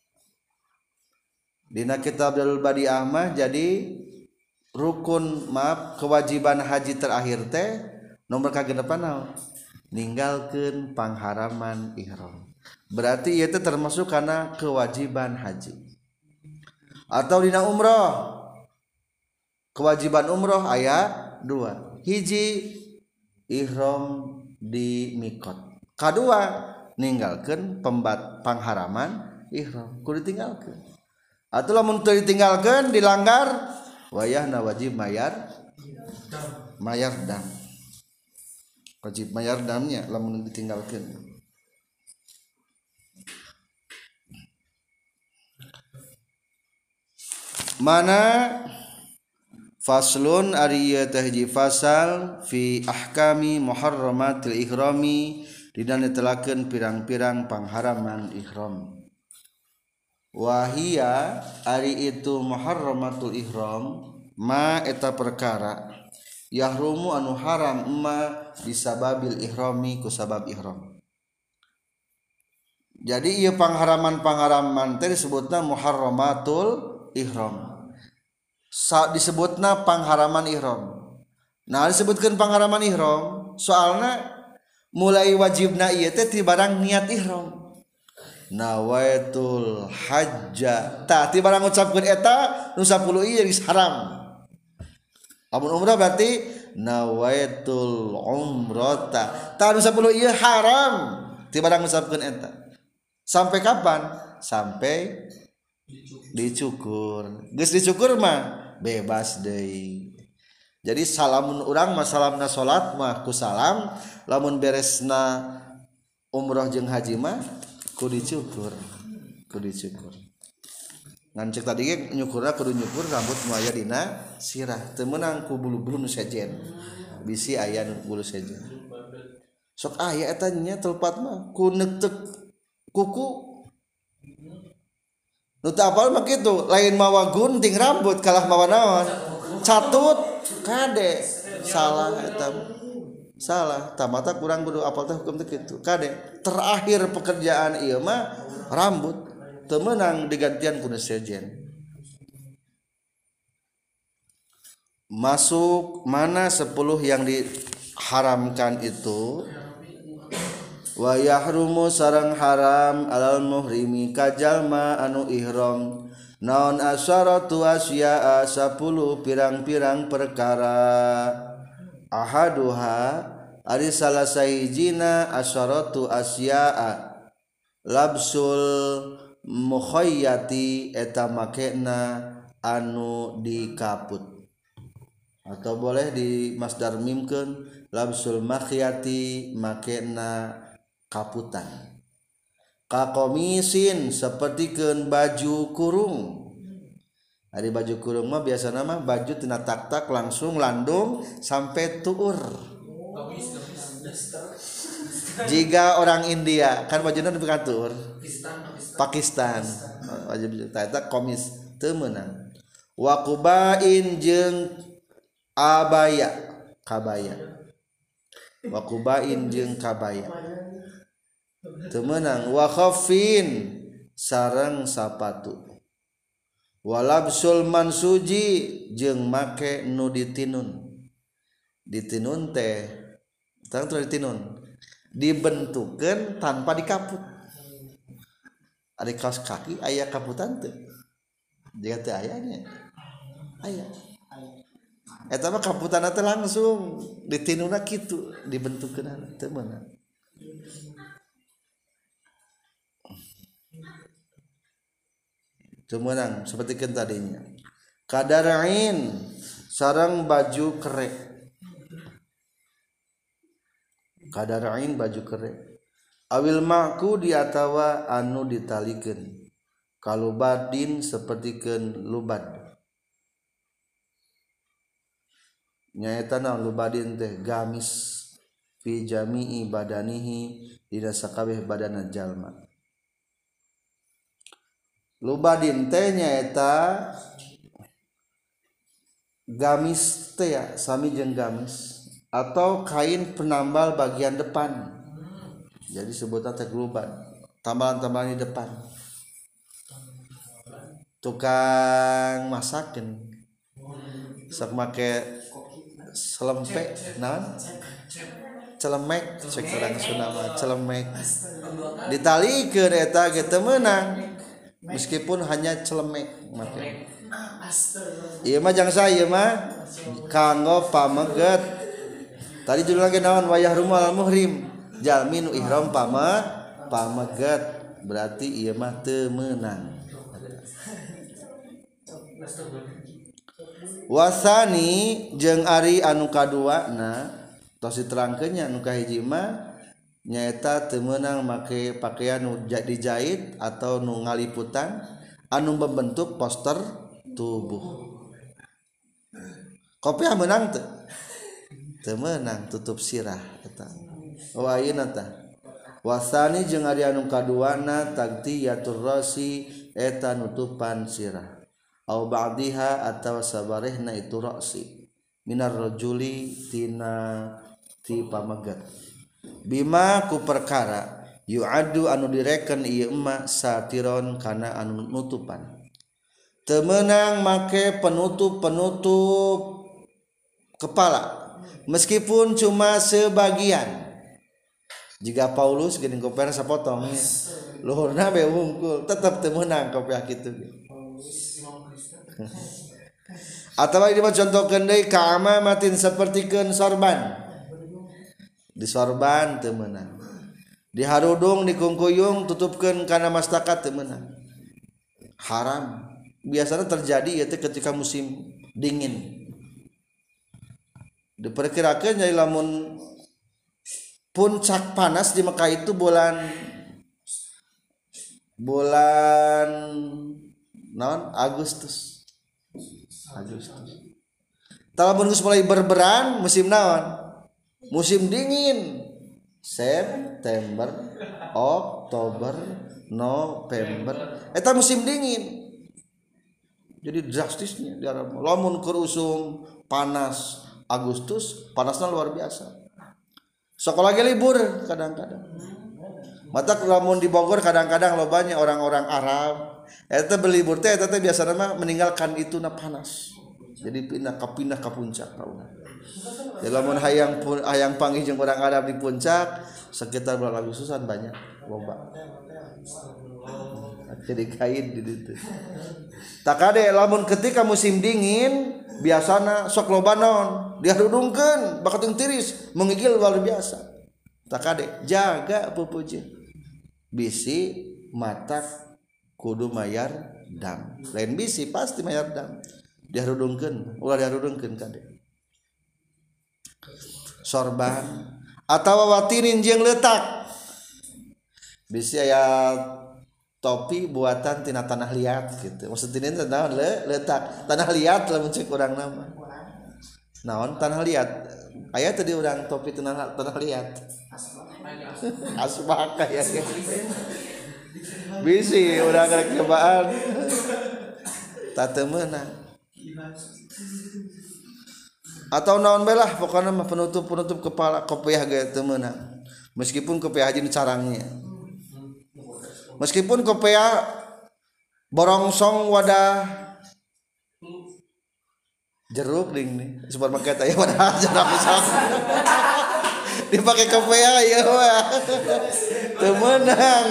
dina kitab Dalil Badi'ah mah jadi rukun kewajiban haji terakhir teh nomor kagendepan naon ninggalkeun pangharaman ihram berarti ieu teh termasuk kana kewajiban haji atau dina umroh kewajiban umroh aya dua hiji ihram di miqat kadua ninggalkeun pangharaman ihram kudu ditinggalkeun atau lamun teu ditinggalkeun dilanggar wayahna wajib mayar dam wajib mayar damnya lamun ditinggalkeun mana faslun ari ieu teh hiji fasal fi ahkami muharramatil ihrami dina netelakeun pirang-pirang pangharaman ihram wahia ari itu muharramatul ihram ma eta perkara yahrumu anu haram ma bisababil ihrami ku sabab ihram jadi ieu pangharaman teh disebutna muharramatul ihram disebutna pangharaman ihram nah disebutkeun pangharaman ihram soalna mulai wajibna ieu teh ti barang niat ihram nawaitul hajja tah ti barang ngucapkeun eta nu 10 ieu geus haram Lamun umrah berarti nawaitul umrata. Tahun 10 ieu haram. Ti barang nusapkeun eta. Sampai kapan? Sampai dicukur. Geus dicukur mah bebas deui. Jadi salamun urang mah salamna salat mah ku salam, lamun beresna umroh jeung haji mah ku dicukur. Ngan cek tadi ge nyukurna kudu nyukur rambut nu aya dina sirah, teu meunang ku bulu-bulu nu sejen. Bisi aya nu bulu sejen. Sok aya eta nya telpat mah ku neutek kuku. Nu teu apal mah kitu, lain mawa gunting rambut kalah mawa naon? Catut kade. Salah eta. Salah, tamata kurang kudu apal teh hukum teh kitu. Kade, terakhir pekerjaan ieu mah rambut teu meunang digantian ku sejen. Masuk mana 10 yang diharamkan itu? Wa yahrumu sareng haram alal muhrimi kajalma anu ihram naon asyaratu asya'a 10 pirang-pirang perkara ahaduha ari salah sahijina asyaratu asya'a labsul mukhayyati eta makena anu dikaput atau boleh di masdar mimkeun labsul makhyati makena kaputan kakomisin sapertikeun baju kurung. Ari baju kurung mah biasana mah baju tina tak-tak langsung landung sampai tuur. Jika orang India kan bajuna nepi ka tuur. Pakistan. Baju tak komis teu meunang. Wa qubain jeung abaya, kabaya. Wa qubain jeung kabaya. Teu meunang wa khaffin sareng sapatu. Walabsul mansuji jeung make nu ditinun. Ditinun teh tang ditinun dibentukeun tanpa dikaput. Ari kaos kaki aya kaputan teu? Jika teu aya nya. Aya. Eta mah kaputanna teh langsung ditinuna kitu, dibentukeun teu meunang. Cumanang seperti kan tadinya kadarain sarang baju kere, kadarain baju kere awil maku diatawa anu ditalikeun kalubadin sepertikeun lubad nyaeta naon lubadin teh gamis fi jami'i badanihi dina sakabeh badanna jalma. Lubadin teh nyaeta gamis teh ya sami jeung gamis atau kain penambal bagian depan. Jadi sebutna teh lubad, tambalan-tambalan di depan. Tukang masakeun sok make selempe naon? Celemek cek urang Sunda mah celemek. Ditalikeun eta ge teu meunang. Meskipun hanya celemek make. Ieu mah jangsa ieu mah kanggo pameget. Tadi judul lagi naon wayah rumal muhrim. Jalmi nu ihram pameget. Berarti ieu mah teu meunang. Wasani jeung ari anu kaduana tos diterangkeun nya anu kahiji mah nyaeta teu meunang make pakaian nu dijahit atau nu ngaliputan anu membentuk poster tubuh. Kopiah meunang teu? Teu meunang tutup sirah eta. Oh ayeuna tah. Wasani jeung ari anu kaduana tagtiyatur rasi eta nutupan sirah. Au ba'diha atawa sabarehna itu rasi. Minar rajuli tina ti pamegat. Bima ku perkara yu'addu anu direken ieu emma satiron kana anu nutupan. Teu meunang make penutup kepala meskipun cuma sebagian. Jika Paulus geuning kopiah sapotong nya. Luhurna be wungkul tetep teu meunang kopiah kitu. Atawa ini mah contohkeun deui ka amamatin sapertikeun sorban. Di sorban teu meunang. Di harudung di kungkuyung tutupkeun kana mastakat teu meunang. Haram. Biasanya terjadi ieu teh ketika musim dingin. Diperkirakeun jadi lamun puncak panas di Mekah itu bulan naon Agustus. Talamun geus mulai berberan musim naon? Musim dingin. September, Oktober, November. Eta musim dingin. Jadi drastisnya di Arab. Lamun keur usum panas Agustus, panasnya luar biasa. Sekolah lagi libur kadang-kadang. Mata lamun di Bogor kadang-kadang lo banyak orang-orang Arab. Eta berlibur teh eta teh biasana mah meninggalkan itu na panas. Jadi pindah ke puncak tauna. Ya lamun hayang panggih jeung orang Arab di puncak sekitar bulan Agustusan banyak loba. Jadi kain di ditu. Tak kade lamun ketika musim dingin biasana sok loba naon diharudungkeun bakat tiris menggigil luar biasa. Tak kade jaga pupujeun. Bisi matak kudu mayar dam. Lain bisi pasti mayar dam. Diharudungkeun, ulah diharudungkeun kade. Sorban atawa watinin jeung leutak. Bisi aya topi buatan tina tanah liat gitu. Maksudnya teh naon leutak. Tanah liat lamun cek urang nama. Naon tanah liat? Aya teh di urang topi tanah liat. Asbak aya ge. Bisi urang rek cobaan. Teu meunang. Atau naon bae lah pokona mah penutup kepala kopiah ge teu meunang. Meskipun kopiah jeung carangnya. Meskipun kopiah borongsong wadah jeruk ding nih supermarket aya wadah jeruk pisang. Dipake kopiah ieu mah. Teu meunang.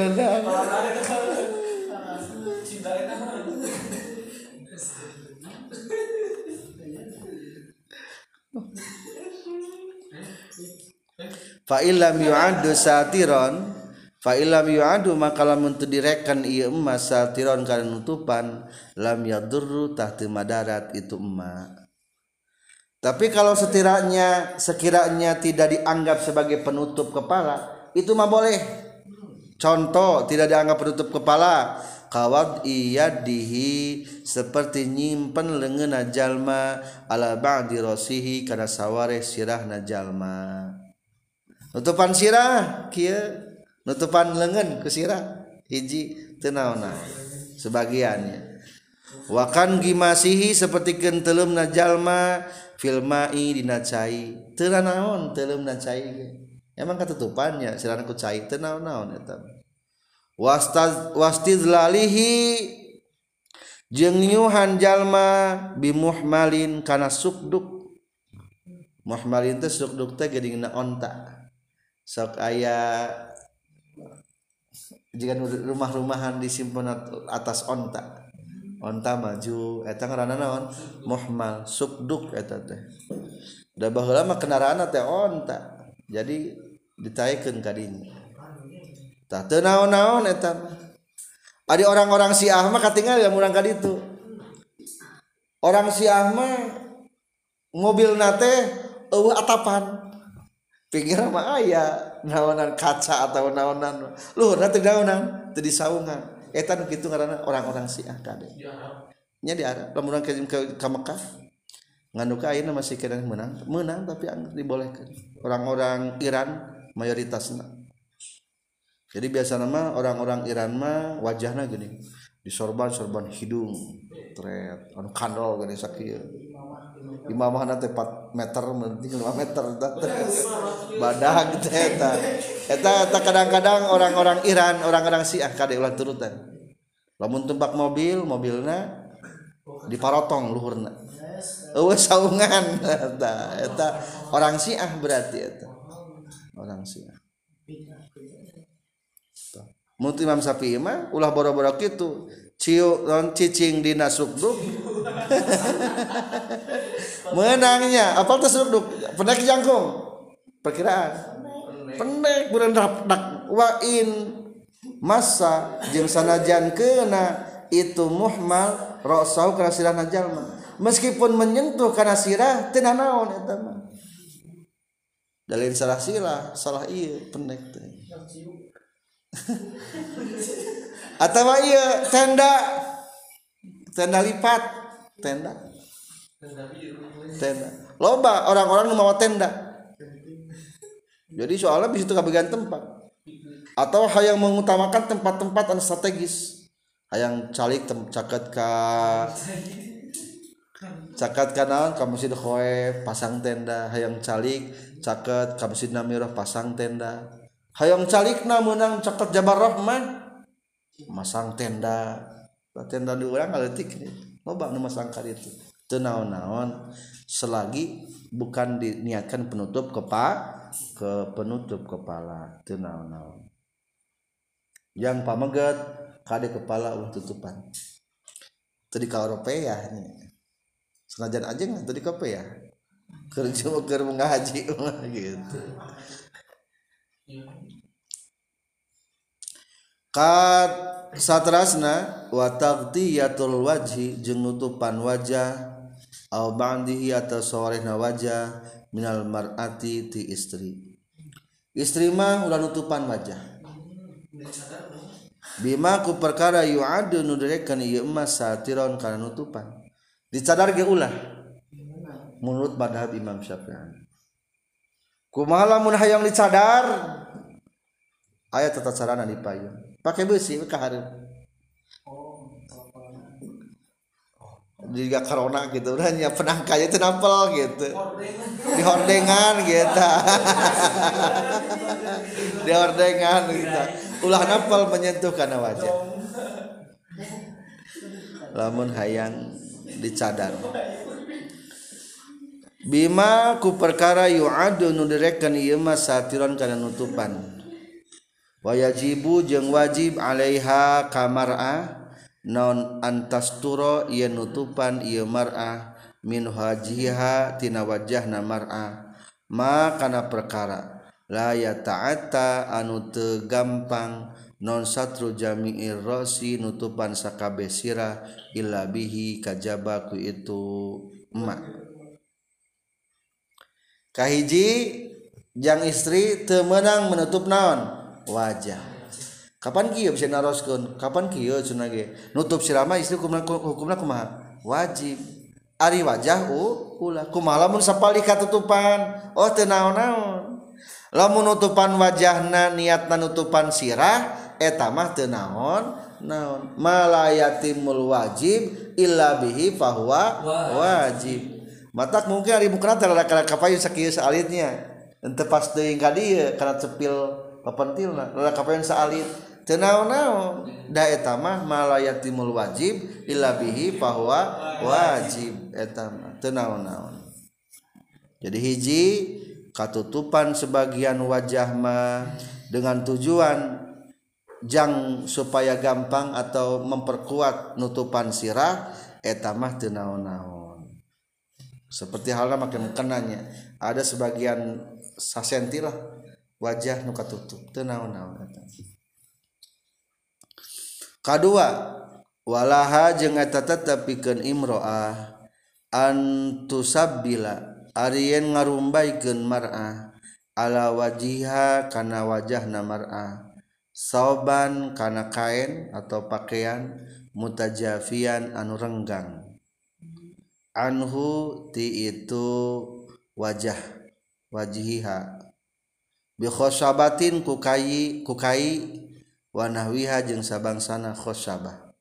Fa illam yu'addu satiron fa illam yu'addu maka lamun teu direkan ieu emas satiron kana nutupan lam yadurru tahti madarat itu emas. Tapi kalau sekiranya tidak dianggap sebagai penutup kepala itu mah boleh. Contoh tidak dianggap penutup kepala kawad iyadihi seperti nyimpen leungeunna jalma ala ba'di rasihi kana saware sirahna jalma. Nutupan sirah kieu nutupan leungeun ku sirah hiji teu naonna sebagiannya. Wa kan gimasihi sapertikeun teuleumna jalma fil ma'i dina cai. Teu naon teuleumna cai ge. Emang katutupannya sirahna ku cai teu naon-naon eta. Wastizlalihi jeung nyuhan jalma bimuhmalin kana sukduk. Muhmalin teh sukduk teh geuninna onta. Sok aya jika rumah-rumahan disimpen atas onta maju eta ngaranna naon muhmal sukduk eta teh da baheula mah kendaraan teh onta jadi ditaekeun ka dinya tah teu naon-naon eta adi orang-orang Syiah mah katingal ya urang ka ditu orang Syiah mah mobilna teh eueuh atapan pinggir mah aya naonan kaca atau naonan luhurna teh naonan teu disaungan eta nu kitu ngaranna orang-orang Syiah kade nya di Arab lamun urang ka Mekah nganu ka ayeuna masih kena menang tapi dibolehkeun orang-orang Iran mayoritasna jadi biasana mah orang-orang Iran mah wajahna gini disorban hidung tret anu kandol gini sakieu imamahna teh 4 meter mending 5 meter badag teh eta kadang-kadang orang-orang Iran orang-orang Syiah kade ulah turutan lamun tumpak mobilna diparotong luhurna eueuh saungan eta orang Syiah berarti eta orang Syiah mun Imam Syafi'i mah ulah boro-boro kitu ciu non cicing dina sukduk menangnya apa tuh sukduk pendek jangkung perkiraan pendek berendak dak wain masa jeung sanajan keuna itu muhmal ra'sahu kana sirahna jalma meskipun menyentuh kana sirah teu naon eta mah dalil salah sirah salah ieu pendek teh atawa ieu tenda lipat tenda loba orang-orang nu mawa tenda jadi soalnya bisa itu kebagian tempat atau hayang mengutamakan tempat-tempat anu strategis hayang calik caket naon ka Masjid Khoef pasang tenda hayang calik caket ka Masjid Namirah pasang tenda hayang calikna meunang caket Jabar Rahmah masang tenda di urang ngaletik loba nu masang ka ditu teu naon-naon selagi bukan diniatkan penutup kepala teu naon-naon yang pameget kade kepala ulah tutupan teu di Eropea nya senajan ajeng teu di Eropea keur ngaji gitu kat satrasna wa taghtiyatul wajhi jeung nutupan wajah au ba'dihi atau sorehna wajah minal mar'ati ti istri mah ulah nutupan wajah bima ku perkara yu'adu nu direkan ieu mah satiron kana nutupan dicadar ge ulah menurut madhab Imam Syafi'i kumaha lamun hayang dicadar aya tata carana dipayun pakai besi ka hareup juga corona gitu hanya penangkanya itu nampel gitu di hordengan gitu di hordengan gitu ulah nampel menyentuh kana wajah lamun hayang dicadar bima ku perkara yu'adu nu direkan ieu mah satiron kana nutupan wa yajibu jeung wajib alaiha kamar'a non antasturo ieu nutupan ieu mar'ah min wajhiha tina wajahna mar'ah ma kana perkara la yata'atta anu teu gampang non satru jami'ir rasi nutupan sakabeh sirah illa bihi kajaba ku itu emak kahiji jang istri teu meunang menutup naon wajah kapan kieu bisa naroskeun kapan kieu cenah ge nutup sirah mah istri hukumna kumaha wajib ari wajah ulah kumaha lamun sapali katutupan oh teu naon-naon lamun nutupan wajahna niatna nutupan sirah eta mah teu naon malayatimul wajib illa bihi fahuwa wajib matak mungkin ari mukna teh rada kapayun sakieu saalitnya henteu pas teuing ka dieu kana cepil papentilna rada kapayun saalit teu naon-naon da eta mah malayatimul wajib illa bihi fahuwa wajib eta mah teu naon-naon jadi hiji katutupan sebagian wajah mah dengan tujuan jang supaya gampang atau memperkuat nutupan sirah eta mah teu naon-naon seperti halnya makin kenanya ada sebagian sasenti lah wajah nu katutup teu naon-naon eta kadua walaha jeung eta tetepikeun imro'ah antusabbila ari yen ngarumbaykeun mar'ah ala wajiha kana wajahna mar'ah sauban kana kain atau pakaian mutajafian anu renggang anhu ti itu wajah wajiha bi khosabatin kukai wa nahwiha jeung sabangsana khosabah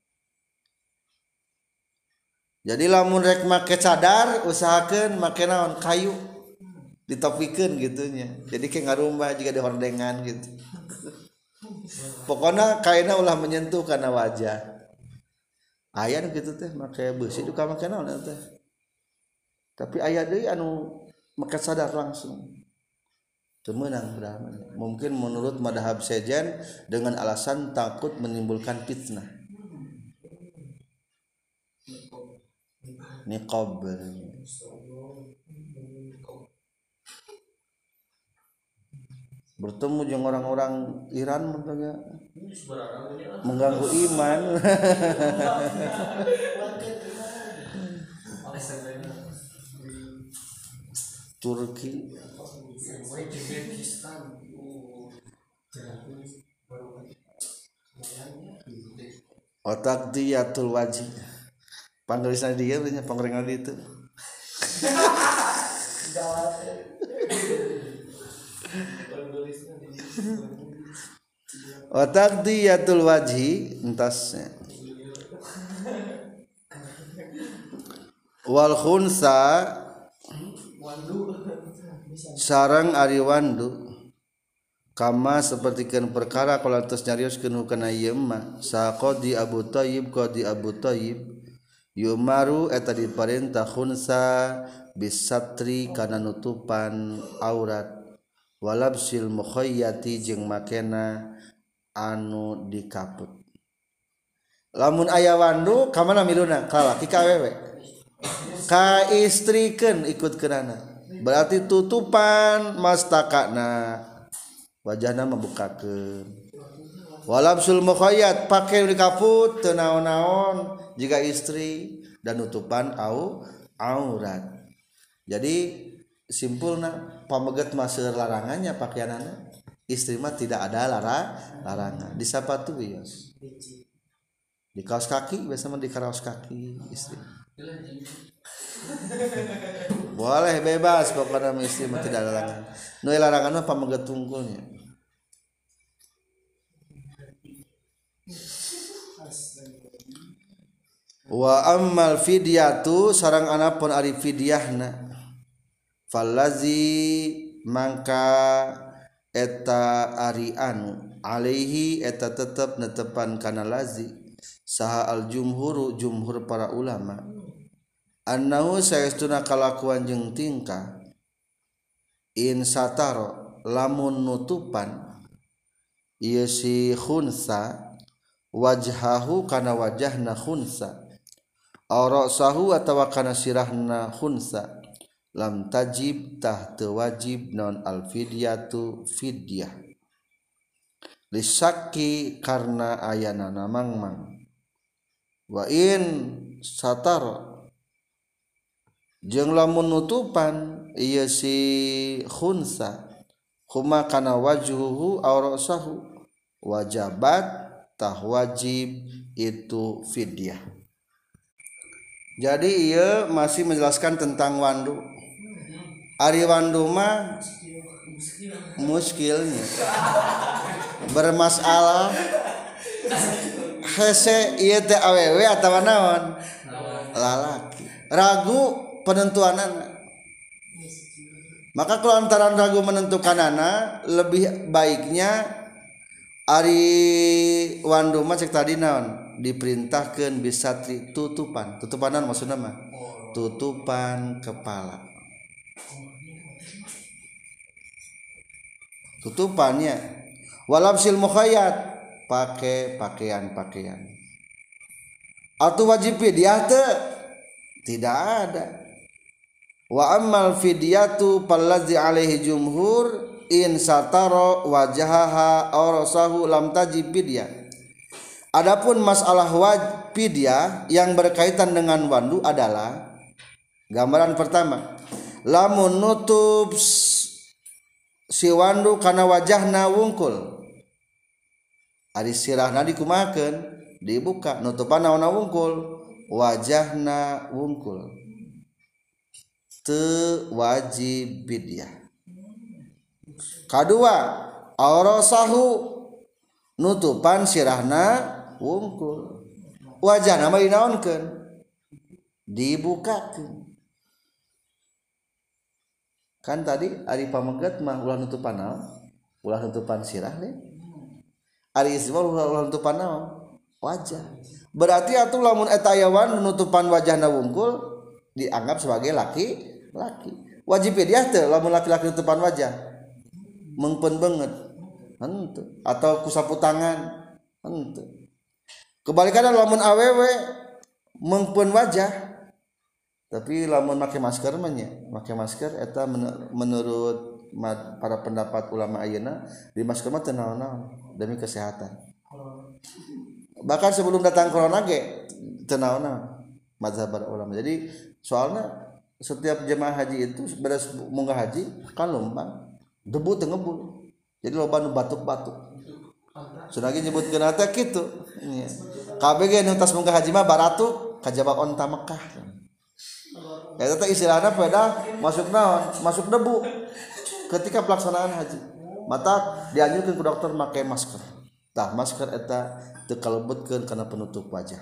jadi lamun rek make cadar usahakeun make naon kayu ditopikeun gitunya jadi kayak ngarumbah juga di hordengan gitu pokoknya kainna ulah menyentuh kana wajah aya gitu teh make beusi duka make naon teh tapi aya deui anu make cadar langsung teu meunang berarti mungkin menurut madhab sejen dengan alasan takut menimbulkan fitnah niqab bertemu dengan orang-orang Iran mengganggu iman. Turki otak diatul wajib panggilan dia punya panggilan itu otak diatul wajhi entasnya wal khunsa sarang ari wandu kama sapertikeun perkara kalatos nyarioskeun kana ieu mah saqadi Abu Thayyib qadi Abu Thayyib yumaru eta diparentah khunsa bisatri kana nutupan aurat walabsil mukhayyati jeung makena anu dikaput lamun aya wandu ka mana miluna ka laki ka awewe ka istrikeun ikutkeunana berarti tutupan mastakana wajahna membukakeun walabsul mukhayyat pake dikaput teu naon-naon jika istri dan tutupan aurat. Jadi simpulna pameget maseur larangannya pakaianana istri mah tidak ada larangan di sapatu wios di kaos kaki biasa mah di kaos kaki istri boleh bebas pokoknya istri mah tidak ada larangan nu larangan mah pameget tungkulnya wa ammal fidyatu sareng anapun ari fidyahna fallazi mangka eta ari anu alaihi eta tetep netepan kana lazi saha al jumhur para ulama annahu saestuna kalakuan jeung tingkah in sataro lamun nutupan ieu si khunsa wajhahu kana wajahna khunsa aw ra'sahu atawa kana sirahna khunsa lam tajib tah teu wajib non al fidyatu fidyah lisakki karna ayana namangmang wa in satar jeung lamun nutupan ieu si khunsa huma kana wajhuhu aw ra'sahu wajabat tah wajib itu fidyah. Jadi ieu masih menjelaskan tentang wandu. Ari wandu mah muskilnya bermasalah hese ieu teh awewe atawa naon lalaki ragu penentuanana maka kalau antara ragu menentukanana lebih baiknya ari wandu mah cek tadi naon diperintahkeun bisatri tutupanan maksudna mah tutupan kepala tutupannya walabsil mukhayyat pakai pakaian atau wajib fidyah tidak ada wa ammal fidyatu pallazi alaihi jumhur in satara wajahaha aw rasahu lam tajib fidyah. Adapun masalah fidyah yang berkaitan dengan wandu adalah gambaran pertama lamun nutup si wandu kana wajahna wungkul ari sirahna dikumakeun dibuka nutupan naonna wungkul wajahna wungkul teu wajib fidyah. Kadua aurasahu nutupan sirahna wungkul wajahna mah dinaonkeun dibukakeun kan tadi ari pameget mah ulah nutupan naon ulah nutupan sirah deh ari isma ulah nutupan naon wajah berarti atuh lamun eta aya nutupan wajahna wungkul dianggap sebagai laki wajib fidyah teh lamun laki-laki nutupan wajah mengpen banget henteu atau kusapu tangan henteu kebalikanna lamun awewe mengpen wajah Tapi lamun make masker mah nya, make masker eta menurut para pendapat ulama ayeuna di masker mah teu naon-naon demi kesehatan. Bahkan sebelum datang corona ge teu naon-naon mazhab para ulama. Jadi soalnya setiap jemaah haji itu beres munggah haji kan lombang debu teu ngebul. Jadi loba nu batuk-batuk. Sunagi nyebutkeun eta kitu. Kabeh ge nu tas munggah haji mah baratuk kajaba onta Mekah. Eta teh istilahna pada masuk naon? Masuk debu ketika pelaksanaan haji. Mata dianjurkeun ku dokter make masker. Tah masker eta teu kalebetkeun kana penutup wajah.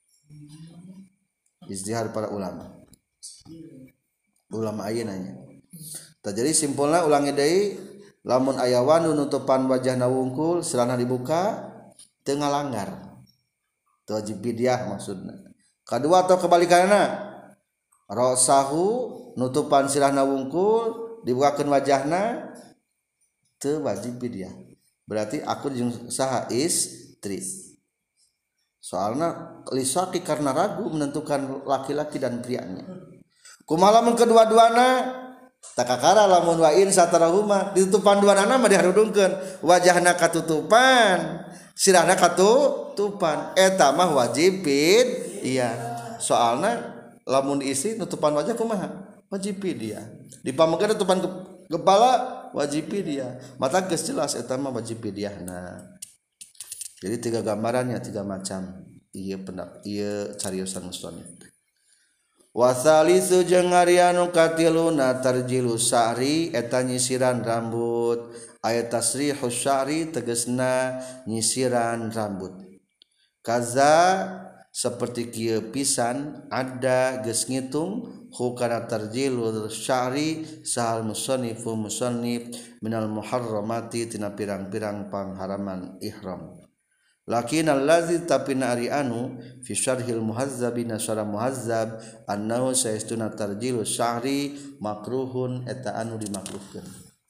Ijtihad para ulama. Ulama ayeuna nya. Tah jadi simpulna ulangi deui lamun aya wanu nutupan wajahna wungkul silana dibuka teu ngalanggar. Teu wajib fidyah maksudna. Kadua atau kebalikanna rasahu nutupan sirahna wungkul dibukakeun wajahna teu wajib fidyah. Berarti aku jeung saha istri. Soalna lisaki karena ragu menentukan laki-laki dan prianya. Kumaha lamun kedua-duana takakara lamun wa in satarahuma ditutupan duanana mah diharudungkeun wajahna katutupan sirahna katutupan eta mah wajib fidyah. Soalna lamun diisi nutupan wajah kumaha wajib fidyah. Dipamekeun nutupan kepala wajib fidyah. Mata geus jelas eta mah wajib fidyahna. Jadi tiga gambarannya tiga macam. Ieu cariosan musannif. Wa salisu jeung ari anu katiluna tarjilu sa'ri eta nyisiran rambut. Aya tasrihus sya'ri tegasna nyisiran rambut. Kaza seperti kieu pisan ada geus ngitung hukana tarjilul sya'ri sahal musannifu musannif minal muharramati tina pirang-pirang pangharaman ihram. Lakin allazi tapina ari anu fi syarhil muhazzabi nasara muhazzab annahu saistuna tarjilus sya'ri makruhun eta anu dimakruhkeun.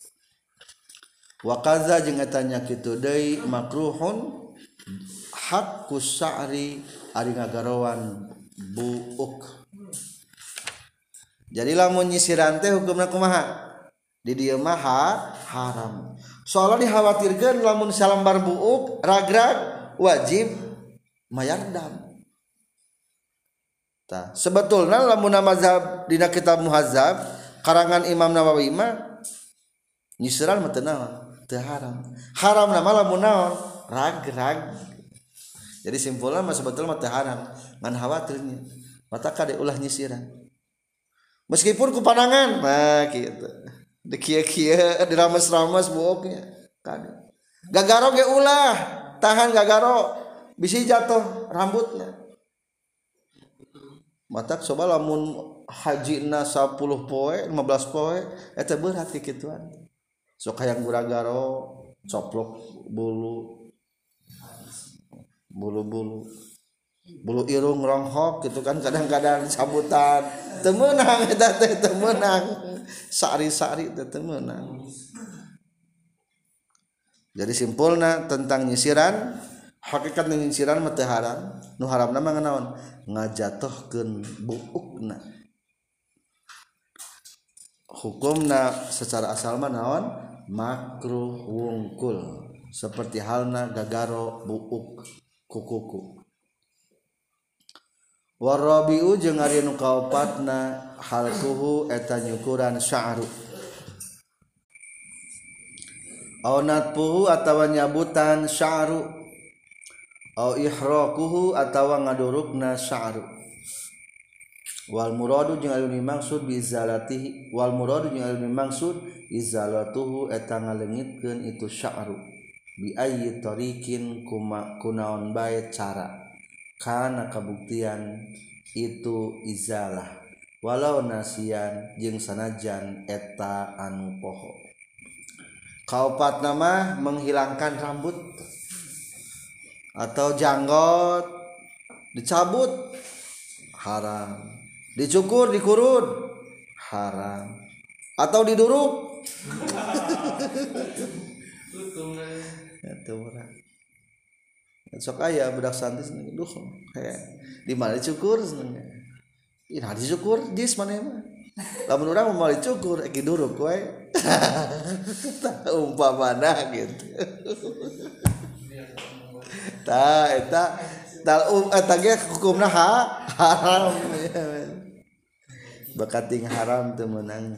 Wa qaza jeung eta nya kitu deui makruhun hakkus sya'ri ari ngagarowan buuk. Jadi lamun nyisiran teh hukumna kumaha? Di dieu mah haram. Soalna dikhawatirkeun lamun salambar buuk ragrag wajib mayar dam. Tah, sebetulna lamun mazhab dina kitab Muhazzab karangan Imam Nawawi mah nyisiran mah teu naon? Teu haram. Haram nama lamun naon? Ragrag. Jadi simpulna mah sebetulna mah teu haram, ngan khawatirnya. Mata kade ulah nyisiran. Meskipun ku panangan, nah gitu. Di kieu-kieu dirames-rames buuknya. Kade. Gagaro ge ulah, tahan gagaro bisi jatuh rambutnya. Mata coba lamun hajina 10 poe, 15 poe eta berat kikituan. Sok hayang guragaro, coplok bulu irung ronghok gitu kan kadang-kadang sambutan teu meunang eta teh teu meunang sari-sari teu meunang. Jadi simpulna tentang nyisiran hakikat nyisiran mah teu haram nu haramna mah naon ngajatohkeun buukna. Hukumna secara asal mah naon makruh wungkul seperti halna gagaro buuk kukuku. Warabiu jeung ari nu kaopatna halquhu eta nyukuran sya'ru. Au natpuhu atawa nyabutan sya'ru. Au ihraquhu atawa ngadurukna sya'ru. Wal muradu jeung anu dimaksud bi izalatihi wal muradu jeung anu dimaksud izalatuhu eta ngaleungitkeun itu sya'ru. Bi ayyi tariqin kunaon bae cara kana kabuktian itu izalah walau nasian jeung sanajan eta anu poho. Kaopat nama menghilangkan rambut atau janggot dicabut haram, dicukur dikurut haram, atau diduruk itu murah. Sok aya budak santri duh kayak di mana dicukur senengnya Ina dicukur jis mana mah. Lamun urang mau dicukur eki duruk we. Umpamana gitu. Tah eta eta ge hukumna haram. Bakating haram teu meunang.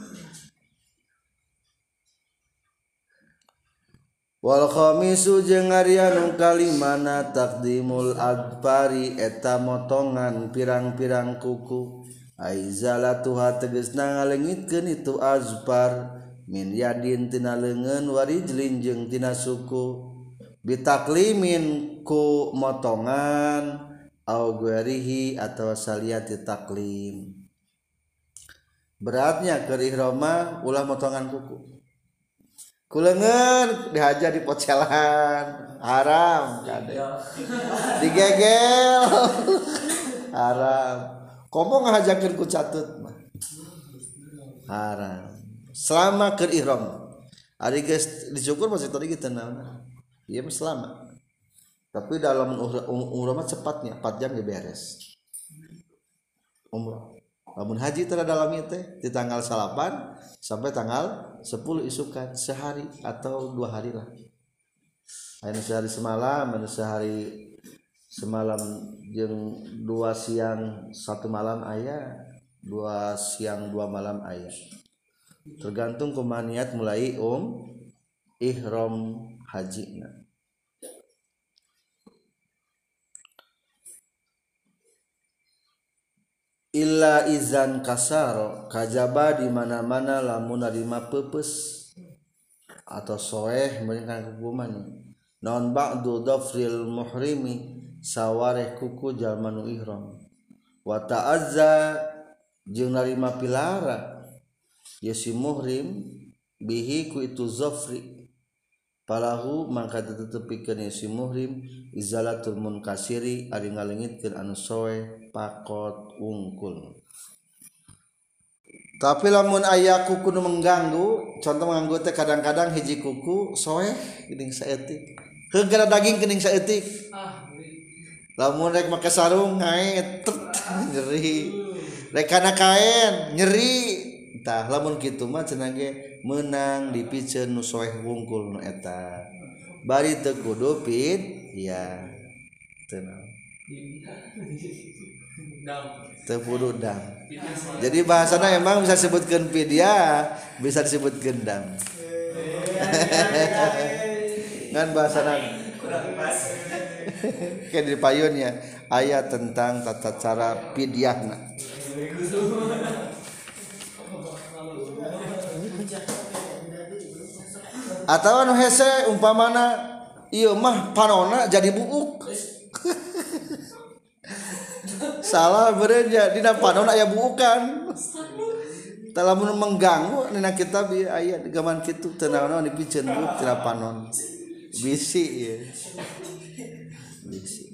Wal khamisu jeung ari anu kalimana taqdimul adfari eta motongan pirang-pirang kuku aizalatuha tegasna ngaleungitkeun itu azfar min yadin tina leungeun warijlin jeung tina suku bitaklimin ku motongan au guerihi atau saliyati taklim beratnya keur ihrama ulah motongan kuku kulengan dihajar di pocelan haram kade digegel haram komo ngahajakeun ku catut mah haram selama keur ihram ari geus dicukur masih tadi kitu naon ieu mah selama tapi dalam umrah mah cepatnya 4 jam ge beres umrah lamun haji teh dalam ieu teh di tanggal 8 sampai tanggal 10 isukan sehari atau 2 hari lah. Anu sehari semalam, anu sehari semalam jeung 2 siang 1 malam aya, 2 siang 2 malam aya. Tergantung kumaha niat mulai ihram hajina. Illa izan kasaro kajaba di mana-mana lamun narima pepes atau soeh meunang hukuman non ba'du dhafril muhrimi sawareh kuku jalma nu ihram wa ta'azza jeung narima pilara ya si muhrim bihi ku itu zafri palahu mangka tetepikeun si muhrim izalatul munkasiri ari ngaleungitkeun anu soeh pakot ungkul. Tapi lamun aya kuku nu mengganggu, contoh mengganggu teh kadang-kadang hiji kuku soeh geuning saeutik. Heugara daging geuning saeutik. Lamun rek make sarung ngaet nyeri. Rek kana kaen nyeri. Tah lamun kitu mah cenah ge meunang dipikeun nu soeh wungkul nu eta. Bari teu kudu ya. Tenang. Tepudu dam. Jadi bahasana emang bisa disebutkan fidyah, bisa disebutkan dam. Ngan bahasana kayak di payunnya ayat tentang tata cara fidyahna. Atau anu hese umpamana ieu mah panonna jadi buuk. Salah bereja dina panon aya buukan. Tah lamun mengganggu dina kitab ieu aya gaman kitu teu naon dipikeun buuk tina panon. Bisi ieu. Bisi.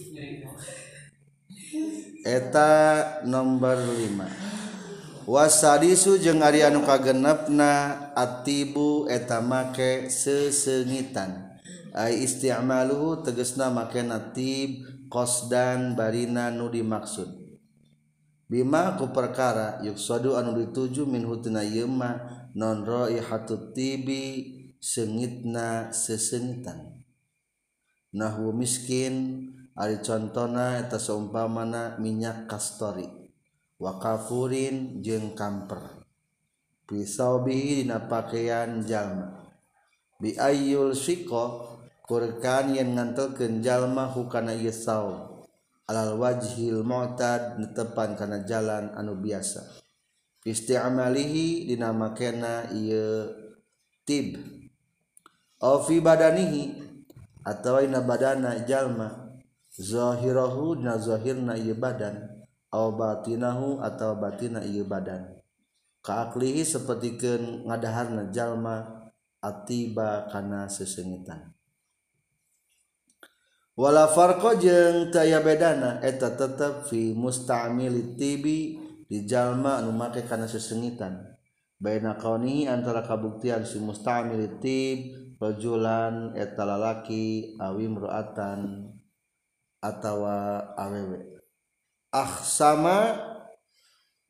Eta nomor 5. Wasadisu jeung ari anu kagenepna atibu eta make sesengitan. Ai isti'maluhu tegasna make natib qasdan barina nu dimaksud bima ku perkara yuksadu anu dituju min hutina ieu mah non raihatut tibi seungitna sesengitan nahwu miskin ari contona eta saumpamana minyak kastori wa kafurin jeung kamper pisau bihi dina pakaian jalma bi ayyul siqa kurkan yang ngantelkeun jalma hukana ieu saum alal wajhil mu'tad netepan kana jalan anu biasa isti'malihi dina makena ieu tib aw fi badanihi atawa ina badana jalma zahirahu dina zahirna ieu badan aw batinahu atawa batina ieu badan ka aklihi sapertikeun ngadaharna jalma atiba kana sesengitan wala farqa jeung teu aya bedana eta tetep fi musta'mil tibi di jalma anu make kana sesengitan baina kaunihi antara kabuktian si musta'mil tib rajulan eta lalaki awi imro'atan atawa awewe sama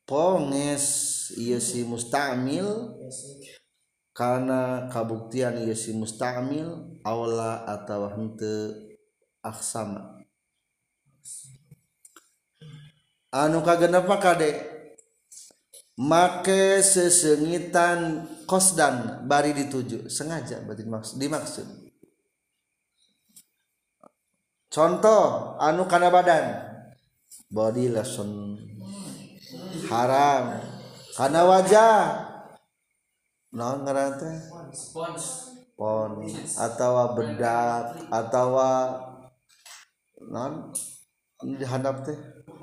ponges ieu si mustamil karena kabuktian ieu si mustamil aula atawa henteu aksama anu kagenapa kade make sesengitan qasdan bari dituju sengaja berarti dimaksud contoh anu kana badan body lotion haram kana wajah naon ngaran teh pons atawa bedak atawa naon dihandap teh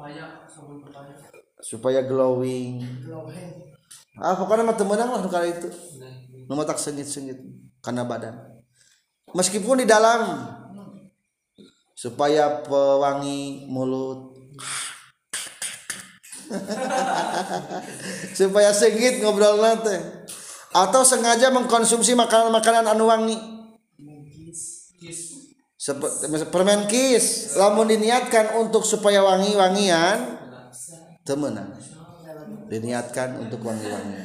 supaya glowing pokoknya mah teu meunang lah kali itu nu matak sengit-sengit kana badan meskipun di dalam supaya pewangi mulut supaya sengit ngobrol teh atau sengaja mengkonsumsi makanan-makanan anu wangi permen kis lamun diniatkan untuk supaya wangi-wangian teu meunang diniatkan untuk wangi-wangian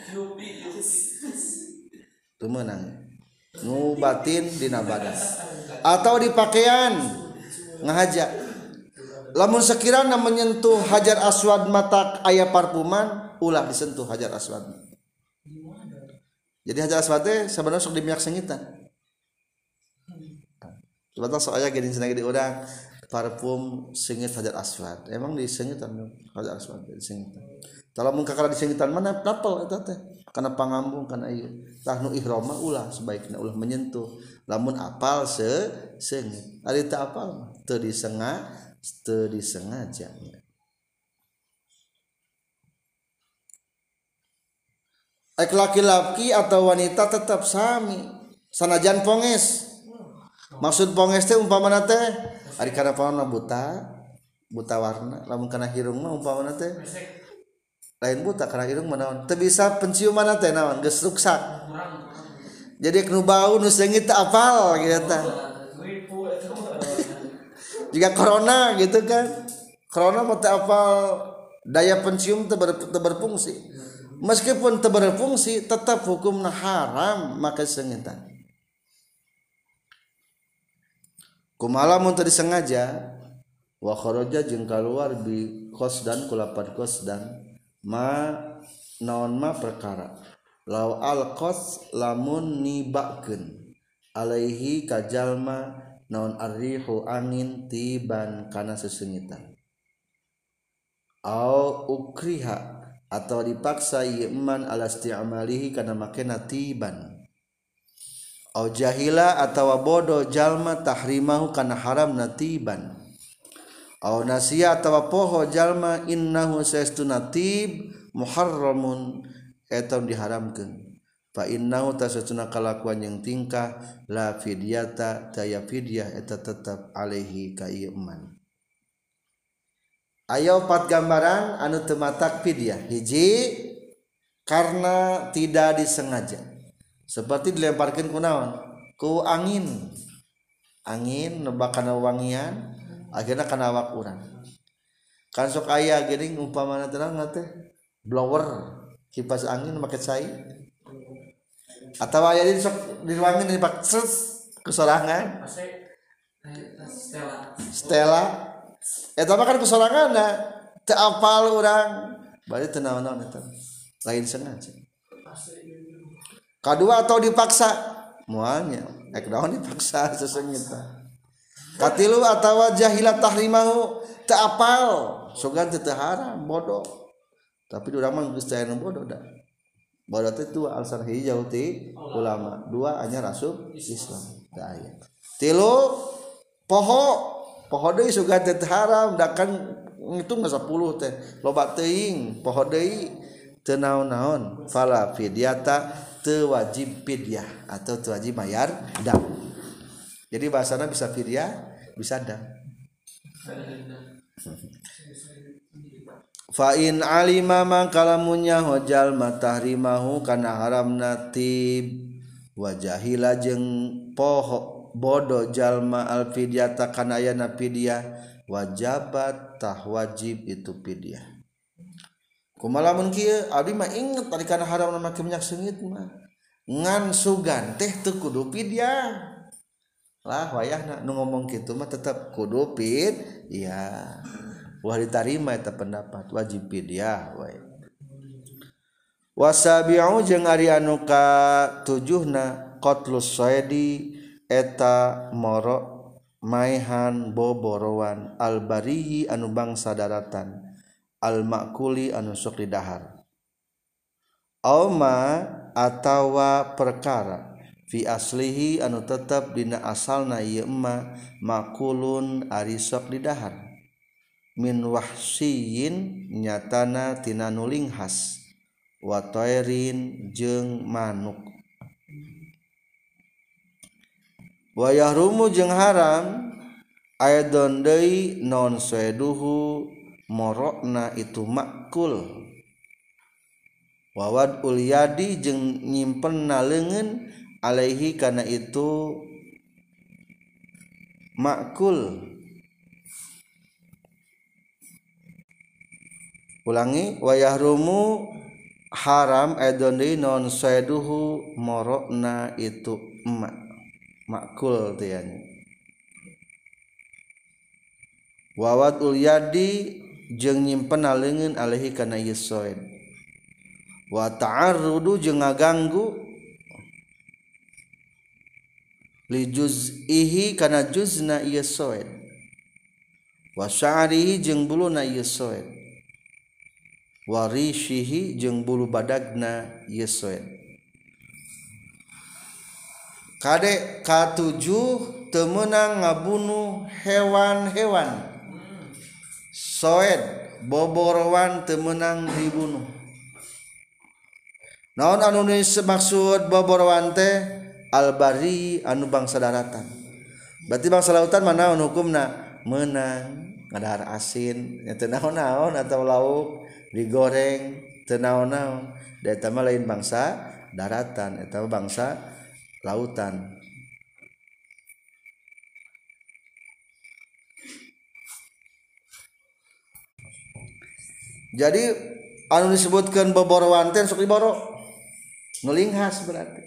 teu meunang nu batin dina badan atau di pakaian ngahaja lamun sekiranya menyentuh hajar aswad mata aya parfuman ulah disentuh hajar aswad jadi hajar aswad teh sebenarnya sok dimiak sengitan sebenarnya sok aya geuning cenah di urang parfum sengit hajar aswad emang disengitan hajar aswad disengitan kalau mun kakara disengitan mana tapel eta teh kana pangambung kana ieu tah nu ihram mah ulah sebaikna ulah menyentuh lamun apal sengit ari teu apal teu disengaja ek laki-laki atau wanita tetap sami sanajan ponges maksud ponges teh umpamana teh ari kana paona buta warna lamun kana hirung mah umpamana teh lain buta kana irung mah naon teu bisa penciuman teh naon geus ruksak jadi nu bau nu seungit teu apal kitu tah jika corona gitu kan corona mah teu apal daya pencium teu berfungsi meskipun teu berfungsi tetap hukumna haram make seungitan kumaha mun teu disengaja wa kharaja jeung kaluar bi qasdan kulapan qasdan ma naon ma perkara law alqas lamun nibakeun alaihi kajalma naon arrihu angin tiban kana sesengitan au ukriha atau dipaksa iman ala isti'malihi kana makena tiban au jahila atawa bodoh jalma tahrimahu kana haram natiban au nasiya atawa poho jalma innahu saestuna tib muharramun eta diharamkeun fa innahu tasatuna kalakuan yang tingkah la fidyata taya fidyah eta tetap alaihi ka ieu eman aya 4 gambaran anu teu matak fidyah hiji karena tidak disengaja seperti dilemparkeun ku naon ku angin nebak kana wangian akhirna kana awak urang kan sok aya geuning umpamana tenang teh blower kipas angin make cai atawa aya di sok di ruangan dipak kesorangan stella eta mah kan kesoranganna teu apal urang bari teu naon-naon eta lain sengaja kadua atau dipaksa moalnya ek naon dipaksa sesengitan katilu atawa jahilat tahrimahu teu apal sogan teu haram bodoh tapi urang mah geus teu bodoh da bodoh teh dua alasan hiji jauh ti ulama dua anyar asup Islam da aya tilu poho deui sogan teu haram da kan ngitung 10 teh loba teuing poho deui teu naon-naon fala fidyata teu wajib fidyah atau teu wajib bayar dam jadi bahasana bisa fidyah bisa dam fa in alima mangkalamunnya hojal matahrimahu kana haramna tib wa jahila jeung poho bodoh jalma al fidyata kana ayana fidyah wajabat tah wajib itu fidyah kumaha lamun kieu abdi mah inget tadi kana haram make minyak seungit mah ngan sugan teh teu kudu pidyah lah wayahna nu ngomong kitu mah tetep kudu ya wah ditarima eta pendapat wajib pidyah wae wasabi'u jeung ari anu ka 7na qatlus saidi eta moro maihan boborowan albariyi anu bangsa daratan al makuli anu sok didahar auma atawa perkara fi aslihi anu tetep dina asalna ieu emma makulun ari sok didahar min wahsiyin nyatana tina nuling khas wa tairin jeung manuk wa yahrumu jeung haram aidon deui non saiduhu morokna itu makul wawad ulyadi jeung nyimpenna leungeun alaihi kana itu makul ulangi wa yahrumu haram aidon non saiduhu morokna itu makul teh nya wawat ulyadi jeung nyimpen leungeun alaihi kana ieu soed wa ta'arrudu jeung ngaganggu li juz'ihi kana juzna ieu soed wa sya'rihi jeung buluna ieu soed warishihi jeung bulu badagna ieu soed kade ka-7 teu meunang ngabunuh hewan-hewan soed boborowan teu meunang dibunuh naon anu maksud boborowan teh albari anu bangsa daratan berarti bangsa lautan mana naon hukumna meunang ngadahar asin teu naon-naon atau lauk digoreng teu naon-naon da eta mah lain bangsa daratan eta bangsa lautan jadi anu disebutkeun boborowan teh sok diboro nu linghas berarti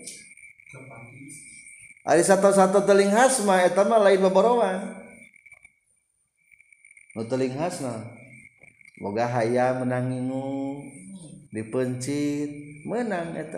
ari sato-sato teu linghas mah eta mah lain boborowan nu teu linghas mah boga hayam menang ngingu dipencit menang eta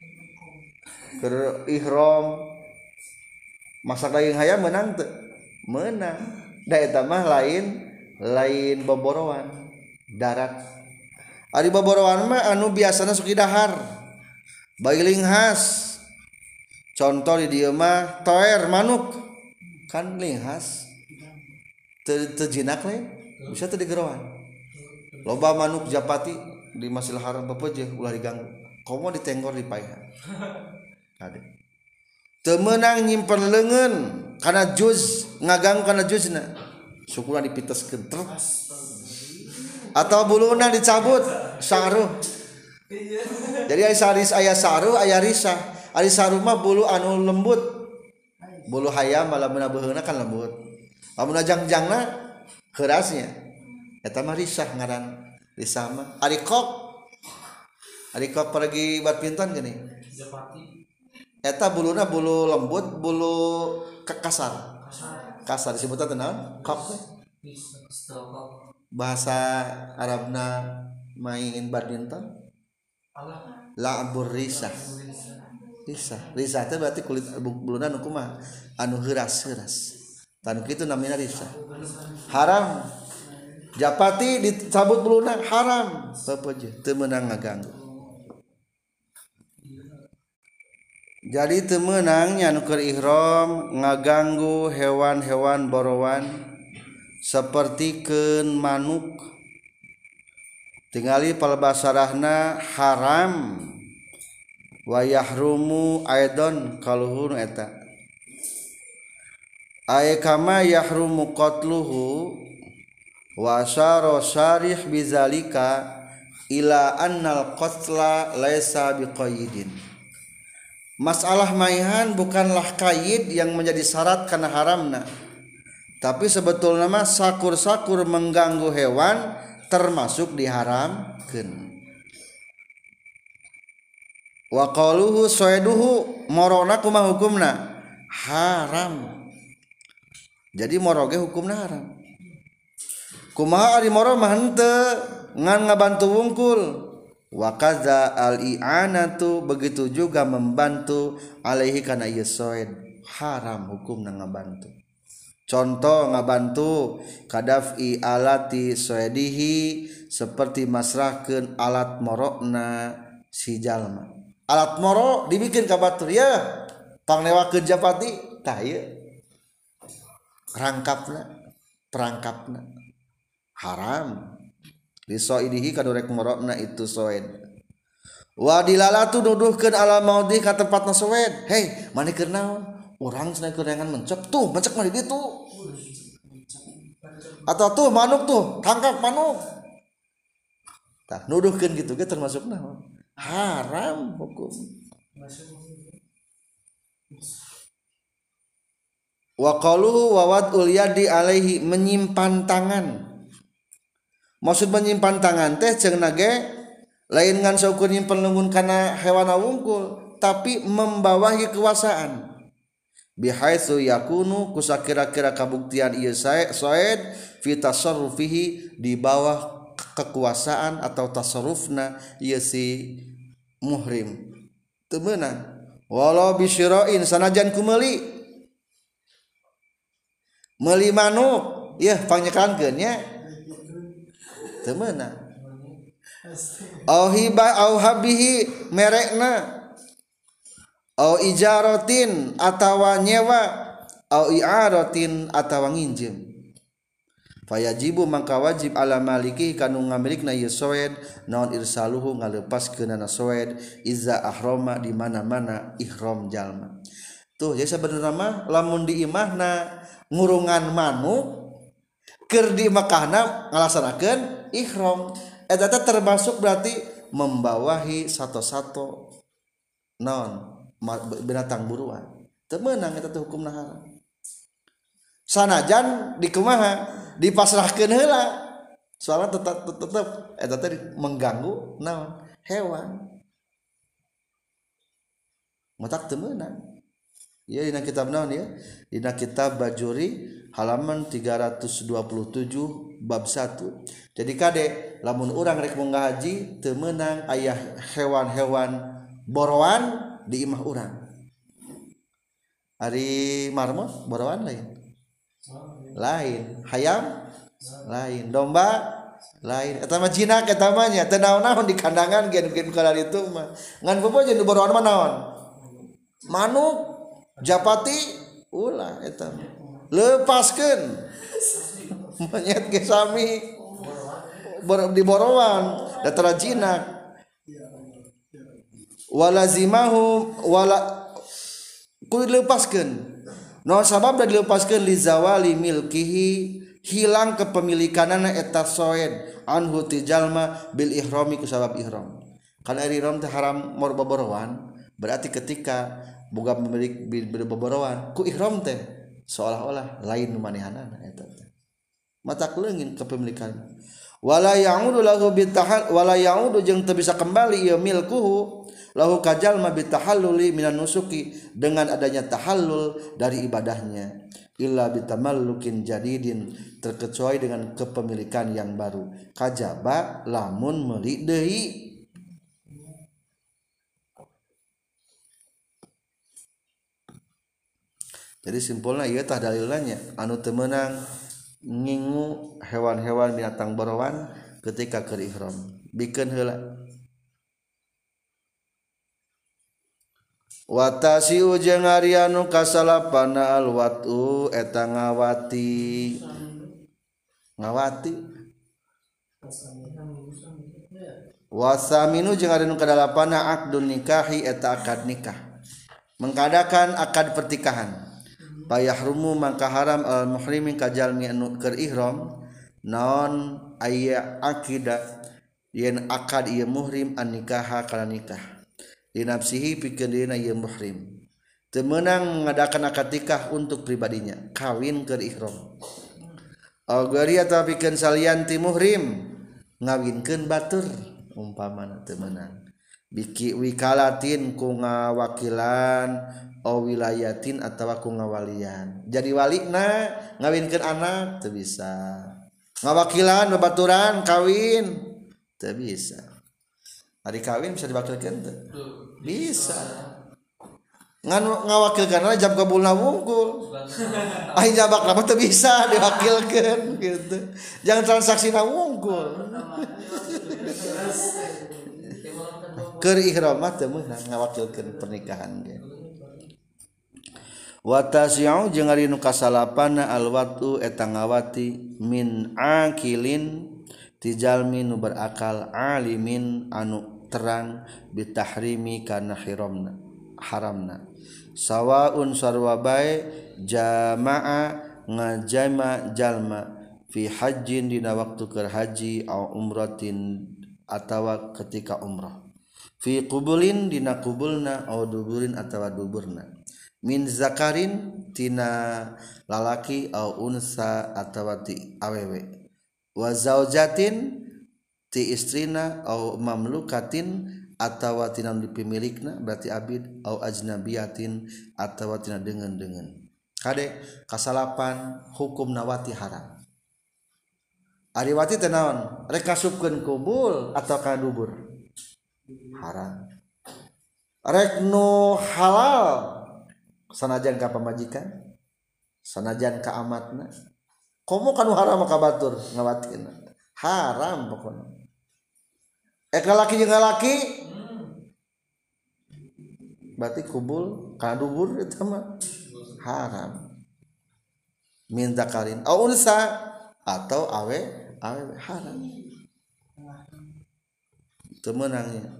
keur ihram masak daging hayam menang teu menang da eta mah lain boborowan darat ari boborowan mah anu biasana sok didahar bayi linghas contoh di dieu mah toer manuk kan linghas teu jinak we bisa teu digerowan loba manuk japati di Masjidil Haram pepeujeuh ulah diganggu komo ditenggor di paehan ade teu meunang nyimpen leungeun kana juz ngaganggu kana juzna syukurna dipiteskeun atau buluna dicabut saruh jadi aya saruh aya risah ari saruh mah bulu anu lembut bulu hayam lamun beuheungna kan lembut lamun jangjangna keurasnya eta mah risah ngaran risah mah ari kok pergi badminton gini eta buluna bulu lembut bulu kasar disebutna teh naon kok bahasa Arabna main badminton la'bur risah teh berarti kulit buluna nu kumaha anu heuras tan kitu namina risah haram japati dicabut buluna haram pepeujeuh teu meunang ngaganggu jadi teu meunang nya nu keur ihram ngaganggu hewan-hewan borowan sapertikeun manuk tingali palbasarahna haram wa yahrumu aidon kaluhur eta ay kama yahrumu qatluhu wa asyara syarih bizalika ila annal qatla laisa biqayyidin masalah maihan bukanlah qaid yang menjadi syarat kana haramna tapi sebetulnya mah sakur-sakur mengganggu hewan termasuk diharamkeun wa qaluhu soeduhu morona kumaha hukumna haram. Jadi moroge hukumna haram. Kumaha ari moro mah henteu ngan ngabantu wungkul. Wa kadza al i'anatu begitu juga membantu alaihi kana ieu soed haram hukumna ngabantu. Contoh ngabantu kadafi alati soedihi seperti masrahkeun alat morokna si jalma. Alat moro dibikin ka batur ya pangnewakeun japati tah ieu rangkapna perangkapna haram lisoidihi kadurek morokna itu soed. Wa dilalatu nuduhkeun ala maudhi ka tempatna soed. Hei mani keur naon urang cenah kerengan mencek tuh mencek mah di ditu atau tuh manuk tuh tangkap manuk tah nuduhkeun kitu ge termasuk naon haram hukum. Wa qaluhu wa wad'ul yadi alaihi menyimpan tangan. Maksud menyimpan tangan teh ceungna ge lain ngan saukur nyimpen leungun kana hewan wungkul tapi membawahi kekuasaan. Bihaitsu yakunu kusakira-kira kabuktian ieu soed fi tasarrufihi di bawah kekuasaan atau tasarrufna ieu si muhrim. Teu meunang walau bisyira'in sanajan ku meuli manuk yeuh panyekankeun nya teu meunang. Au hiba au habihi merekna au ijaratin atawa nyewa au i'aratin atawa nginjem. Fayajibu mangka wajib ala maliki kanu ngamilikna ieu soed naon irsaluhu ngalepaskeunana soed iza ahrama di mana-mana ihram jalma. Tuh jadi sabenerna mah lamun di imahna ngurungan manuk keur di Mekahna ngalaksanakeun ihram eta teh termasuk berarti membawahi sato-sato naon binatang buruan. Teu meunang eta teh hukumna haram. Sanajan di kumaha dipasrahkeun heula soalna tetep eta teh mengganggu naon hewan. Matak teu meunang. Ya dina kitab naon ya? Dina kitab Bajuri halaman 327 bab 1. Jadi kade lamun urang rek munggah haji teu meunang aya hewan-hewan borowan di imah urang. Ari marmot borowan lain, hayam lain, domba lain. Eta mah jinak eta mah nya teu naon-naon di kandangan gen kana ditu mah. Ngan boboje nu borowan mah naon? Manuk, japati, ulah eta mah. Lepaskeun. Monyet ge sami di borowan da tara jinak. Walazimahu wala kudu dilepaskeun. No sabab da dilepaskeun li zawali milkihi hilang kepemilikanana eta soed anhu ti jalma bil ihrami ku sabab ihram. Kana ihram teh haram mor boborowan berarti ketika boga pemilik boborowan ku ihram teh seolah-olah lain nu manehanana eta teh. Matak leungin kepemilikan. Wala ya'udu lahu bitahal wala ya'udu jeung teu bisa kembali ieu milkuhu lahu kajalma bitahalluli minan nusuki dengan adanya tahallul dari ibadahnya illa bitamallukin jadidin terkecuali dengan kepemilikan yang baru kajaba lamun meuli deui. Jadi simpulna ieu tah dalilna anu teu meunang ngingu hewan-hewan binatang borowan ketika keur ihram bikeun heula. Watasiu jeung ari anu kasalapana alwatu eta ngawati wasaminu jeung ari anu kadalapana aqdun nikahi eta akad nikah mengadakan akad pertikahan payahrumu mangka haram al muhrimin kajalmi anu keur ihram naon aya akidah yen akad ieu muhrim an nikaha kana nikah di nafsihi pikeun dirinya ieu muhrim teu meunang mengadakan akad nikah untuk pribadinya kawin keur ihram algari atawa pikeun salian ti muhrim ngawinkeun batur umpamana teu meunang biki wikalatin ku ngawakilan o wilayatin atawa ku ngawalian jadi walina ngawinkeun anak teu bisa ngawakilan babaturan kawin teu bisa ari kawin bisa diwakilkeun teu bisa ngawakilkeun jam kabulna wungkul ai jabak mah teu bisa diwakilkeun gitu jangan transaksina wungkul keur ihram mah teu meunang ngawakilkeun pernikahan ge wa tasyau jeung ari nu kasalapanna alwatu eta ngawati min akilin ti jalmi nu berakal alimin anu terang bitahrimi kana haramna sawaun sarwa bae jamaa ngajama jalma fi hajjin dina waktu keur haji au umratin atawa ketika umrah fi qubulin dina qubulna au duburin atawa duburna min zakarin tina lalaki au unsa atawa ti awewe wa zaujatin ti istrina au mamlukatin atawa tina dipimilikna berarti abid au ajnabiyatin atawa tina deungeun-deungeun kade kasalapan hukum nawati haram ari wati teh naon rek kasupkeun kubul atawa ka dubur haram rek nu halal sanajan ka pamajikan sanajan ka amatna komo kanu haram ka batur ngawatina haram pokona lalaki jeung lalaki berarti kubul kana dubur eta mah haram min zakarin au unsa atau awe haram teu meunangnya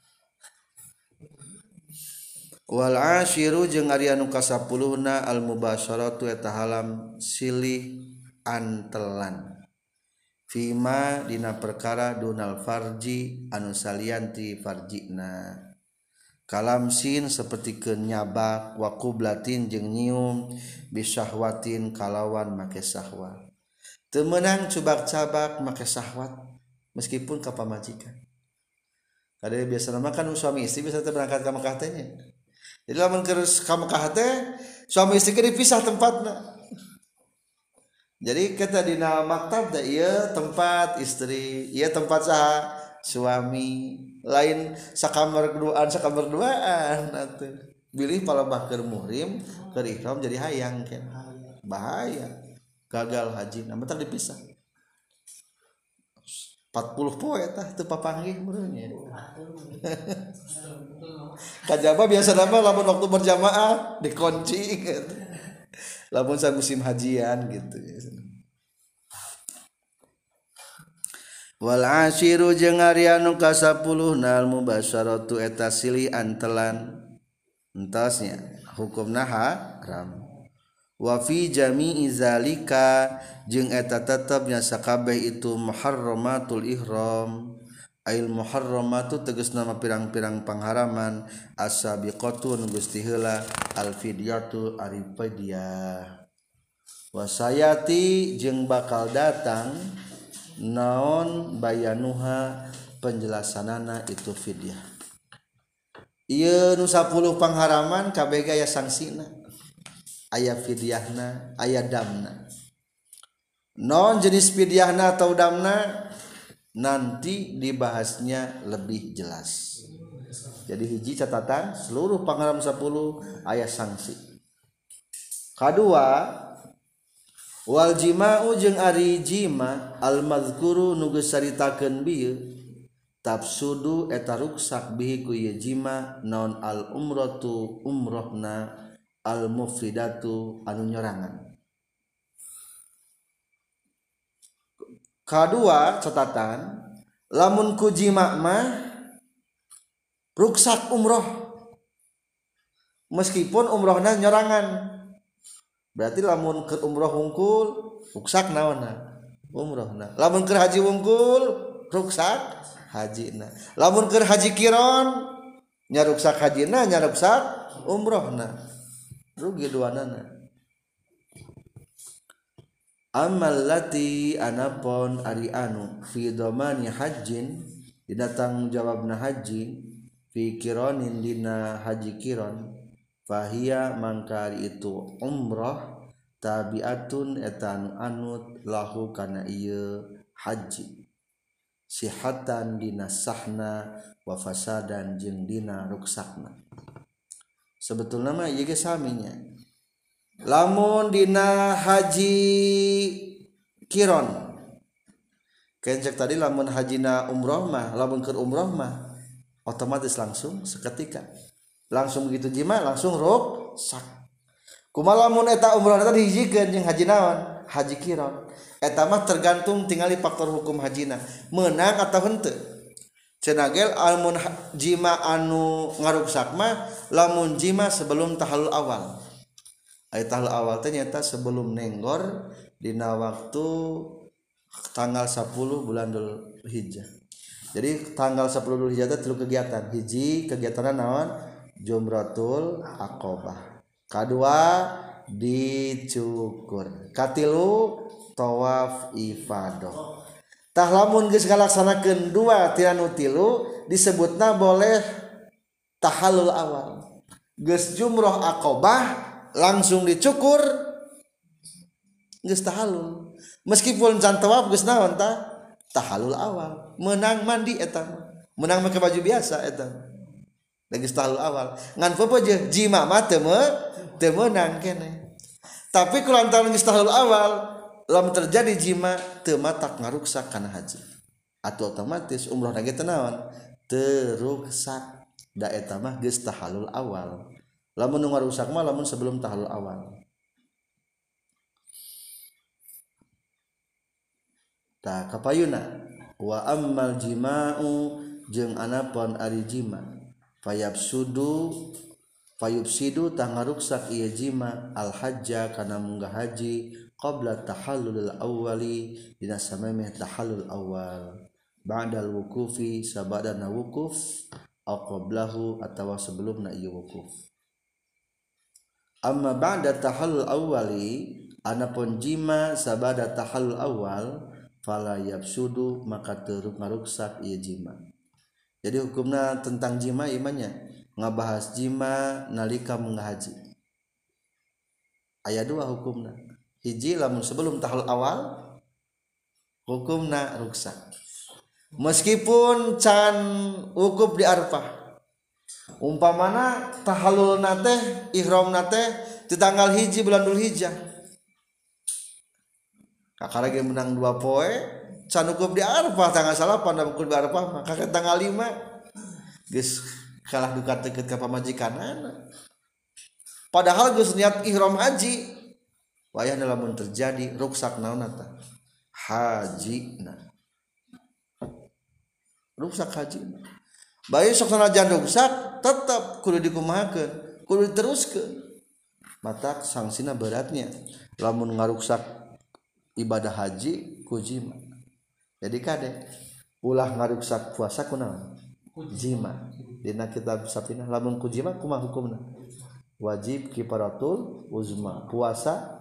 wal asyiru jeung ari anu kasapuluhna al mubasyaratu eta halam silih antelan fima dina perkara dunal farji anu salianti farjina kalamsin seperti kenyabak wa qublatin jeung nyium bisyahwatin kalawan make syahwat teu meunang cubak-cabak make syahwat meskipun ka pamajikan kada biasana mah kan suami istri bisa teh berangkat ka Mekah teh nya jadi lamun keur ka Mekah teh suami istri keur dipisah tempatna jadi kita dina maktab da ieu tempat istri ieu tempat saha suami lain sakamar duaan atuh bilih palebah keur muhrim keur ihram jadi hayang kan bahaya gagal haji na bentar dipisah 40 poe tah teu papanggih meureun nya kajaba biasa nama lamun waktu berjamaah dikunci gitu. Lamun sa musim hajian gitu wal asyiru jeung ari anu kasapuluhna al mubasyaratu eta silih antelan entosnya hukumna haram wa fi jami'i zalika jeung eta tetepnya sakabeh itu muharramatul ihram ail muharramatu tegasna mah pirang-pirang pangharaman as-sabiqatu nu geus ti heula al fidyatu ari fidyah wasayati jeung bakal datang naon bayanuha penjelasanana itu fidyah ieu nu 10 pangharaman kabeh aya sangsina aya fidyahna aya damna non jenis fidyahna atau damna nanti dibahasnya lebih jelas jadi hiji catatan seluruh pangharam 10 aya sanksi kadua wal jima'u jeung ari jima al mazkuru nu geus saritakeun bieu tafsudu eta ruksak bihi ku ieu jima naon al umratu umrohna al mufridatu anu nyorangan kadua catatan lamun ku jima mah ruksak umroh meskipun umrohna nyorangan berarti lamun ke umroh wungkul ruksak naonna umrohna lamun ke haji wungkul ruksak hajina lamun ke haji kiron nya ruksak hajina nya ruksak umrohna rugi duanana amal lati anapon ari anu fi dhamani hajjin dina tanggung jawabna haji fi qironin dina haji qiron fahiya mangkari itu umrah tabiatun etan anut lahu kana ieu haji sihatan dina sahna wa fasadan jeung dina ruksakna. Sebetulna mah ieu ge saminya. Lamun dina haji qiron kencek tadi lamun hajina umroh mah lamun keur umroh mah otomatis langsung seketika langsung begitu jima langsung rusak. Kumaha lamun eta umroh eta dihijikeun jeung haji naon haji qiron eta mah tergantung tingali faktor hukum hajina meunang ataau henteu. Cenah gel lamun jima anu ngaruksak mah lamun jima sebelum tahallul awal. Aya tahallul awal teh nyata sebelum nenggor dina waktu tanggal 10 bulan Dzulhijjah. Jadi tanggal 10 Dzulhijjah teh 3 kegiatan. Hiji kegiatanna naon? Jumratul Aqabah. Kadua dicukur. Katilu tawaf ifadah. Tah lamun geus ngalaksanakeun 2 tina nu 3 disebutna boleh tahallul awal. Geus jumrah Aqabah langsung dicukur geus tahallul. Meskipun can tawaf geus naon tah tahallul awal menang mandi eta menang make baju biasa eta geus tahallul awal ngan popoje jima mah teu meunang keneh. Tapi kulantaran geus tahallul awal lamun terjadi jima teu matak ngaruksak kana haji atuh otomatis umroh ge teu naon teu ruksak da eta mah geus tahallul awal. Lamun nu ngarusak mah lamun sebelum tahallul awal. Ta kapayuna wa ammal jima'u jeung anapun ari jima fayubsidu tah ngaruksak ieu jima al hajja kana munggah haji qabla tahallulil awwali dina samemeh tahallul awal ba'dal wuqufi sabadana wukuf aw qablahu atawa sebelumna ieu wukuf. Amma ba'da tahallul awwali anapun jima sabada tahallul awal fala yabsudu maka teu ngaruksak ieu jima. Jadi hukumna tentang jima imannya ngabahas jima nalika munggah haji. Aya 2 hukumna. Hiji lamun sebelum tahallul awal hukumna ruksak. Meskipun can wukuf di Arafah. Umpamana tahallulna teh ihramna teh di tanggal 1 bulan Dzulhijjah. Kakara ge menang 2 poe can wukuf di Arafah tanggal 8 da wukuf di Arafah mah kakek tanggal 5 geus kalah duka teukeut ka pamajikanana. Padahal geus niat ihram haji. Wayahna lamun terjadi ruksak naon eta? Hajina. Ruksak hajina. Bae sok sanajan ruksak tetep kudu dikumahakeun, kudu diteruskeun. Matak sangsina beratnya lamun ngaruksak ibadah haji ku jima. Jadi kade ulah ngaruksak puasa kunaon? Jima. Dina kitab Sapinah lamun ku jima kumaha hukumna? Wajib kifaratul uzma. Puasa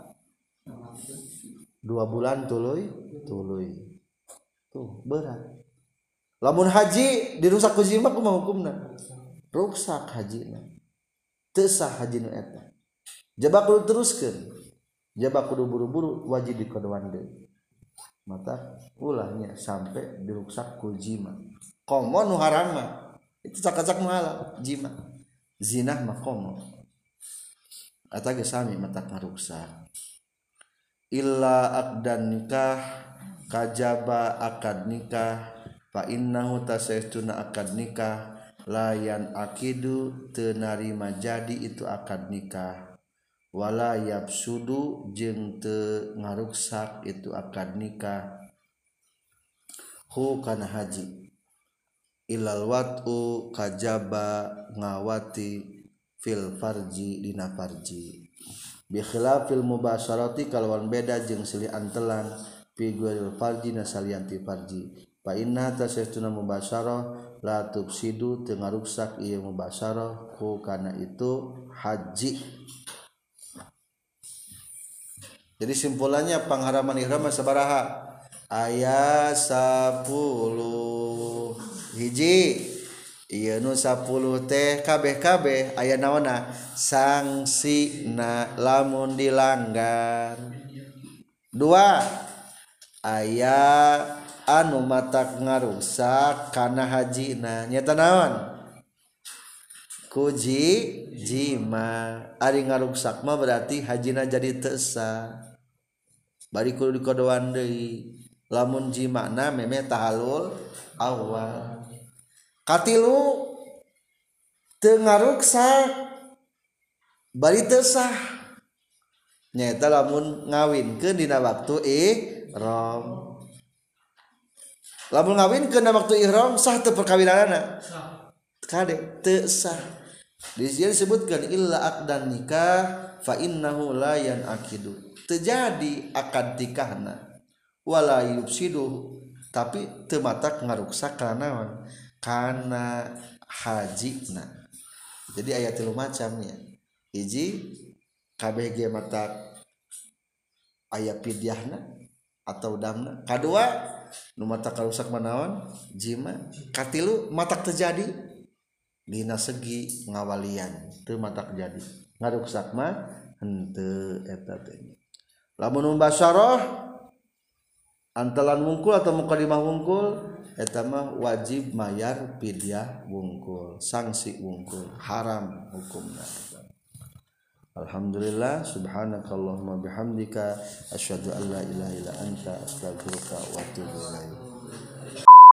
2 bulan tuluy. Tuh berat. Lamun haji dirusak ku jima kumaha hukumna? Ruksak hajina. Teu sah hajina eta. Jaba kudu teruskeun. Jaba kudu buru-buru wajib dikodoan deui. Mata ulahnya sampai diruksak ku jima. Komo nu haram mah itu cak-cak nu halal jima. Zina mah komo. Eta ge sami mata ngaruksak. Illa aqdan nikah kajaba akad nikah fa innahu tasaytuna akad nikah layan akidu teu narima jadi itu akad nikah. Wala yabsudu jeung teu ngaruksak itu akad nikah hu kana haji ilal wat'u kajaba ngawati fil farji dina farji bi khilafil mubasyarati kalawan beda jeung silih antelan fi ghairil farji nasalianti farji fa inna tasaytuna mubasyarah la tufsidu teu ngaruksak ieu mubasyarah hu kana itu haji. Jadi simpulannya pengharaman ihram sabaraha? Aya 10. Hiji Ieu nu 10 teh kabeh-kabeh aya naonna sangsina lamun dilanggar. 2 aya anu matak ngarusak kana hajina nyata naon kuji jima ari ngaruksak mah berarti hajina jadi teu sah bari kudu dikodoan deui lamun jimana meme tahalul awal katilu teu ngaruksak bari teu sah nyaeta lamun ngawinkeun dina waktu ihram lamun ngawinkeun dina waktu ihram sah teu perkawinanna kade teu sah di sini disebutkan illa aqdan nikah fa innahu la yanaqidu terjadi akad nikahna wala yufsidu tapi teu matak ngaruksak kana naon kana hajina jadi aya 3 macam ya hiji kabeh ge matak aya pidyahna atau damna kadua nu matak karusak manaon jima katilu matak terjadi dina segi ngawalian teu matak jadi ngaruksak mah henteu eta teh lamun mubasyarah antalan wungkul atau mukadimah wungkul eta mah wajib mayar pidyah wungkul sanksi wungkul haram hukumna. Alhamdulillah subhanakallahumma bihamdika asyhadu an la ilaha illa anta astaghfiruka wa atubu ilaik.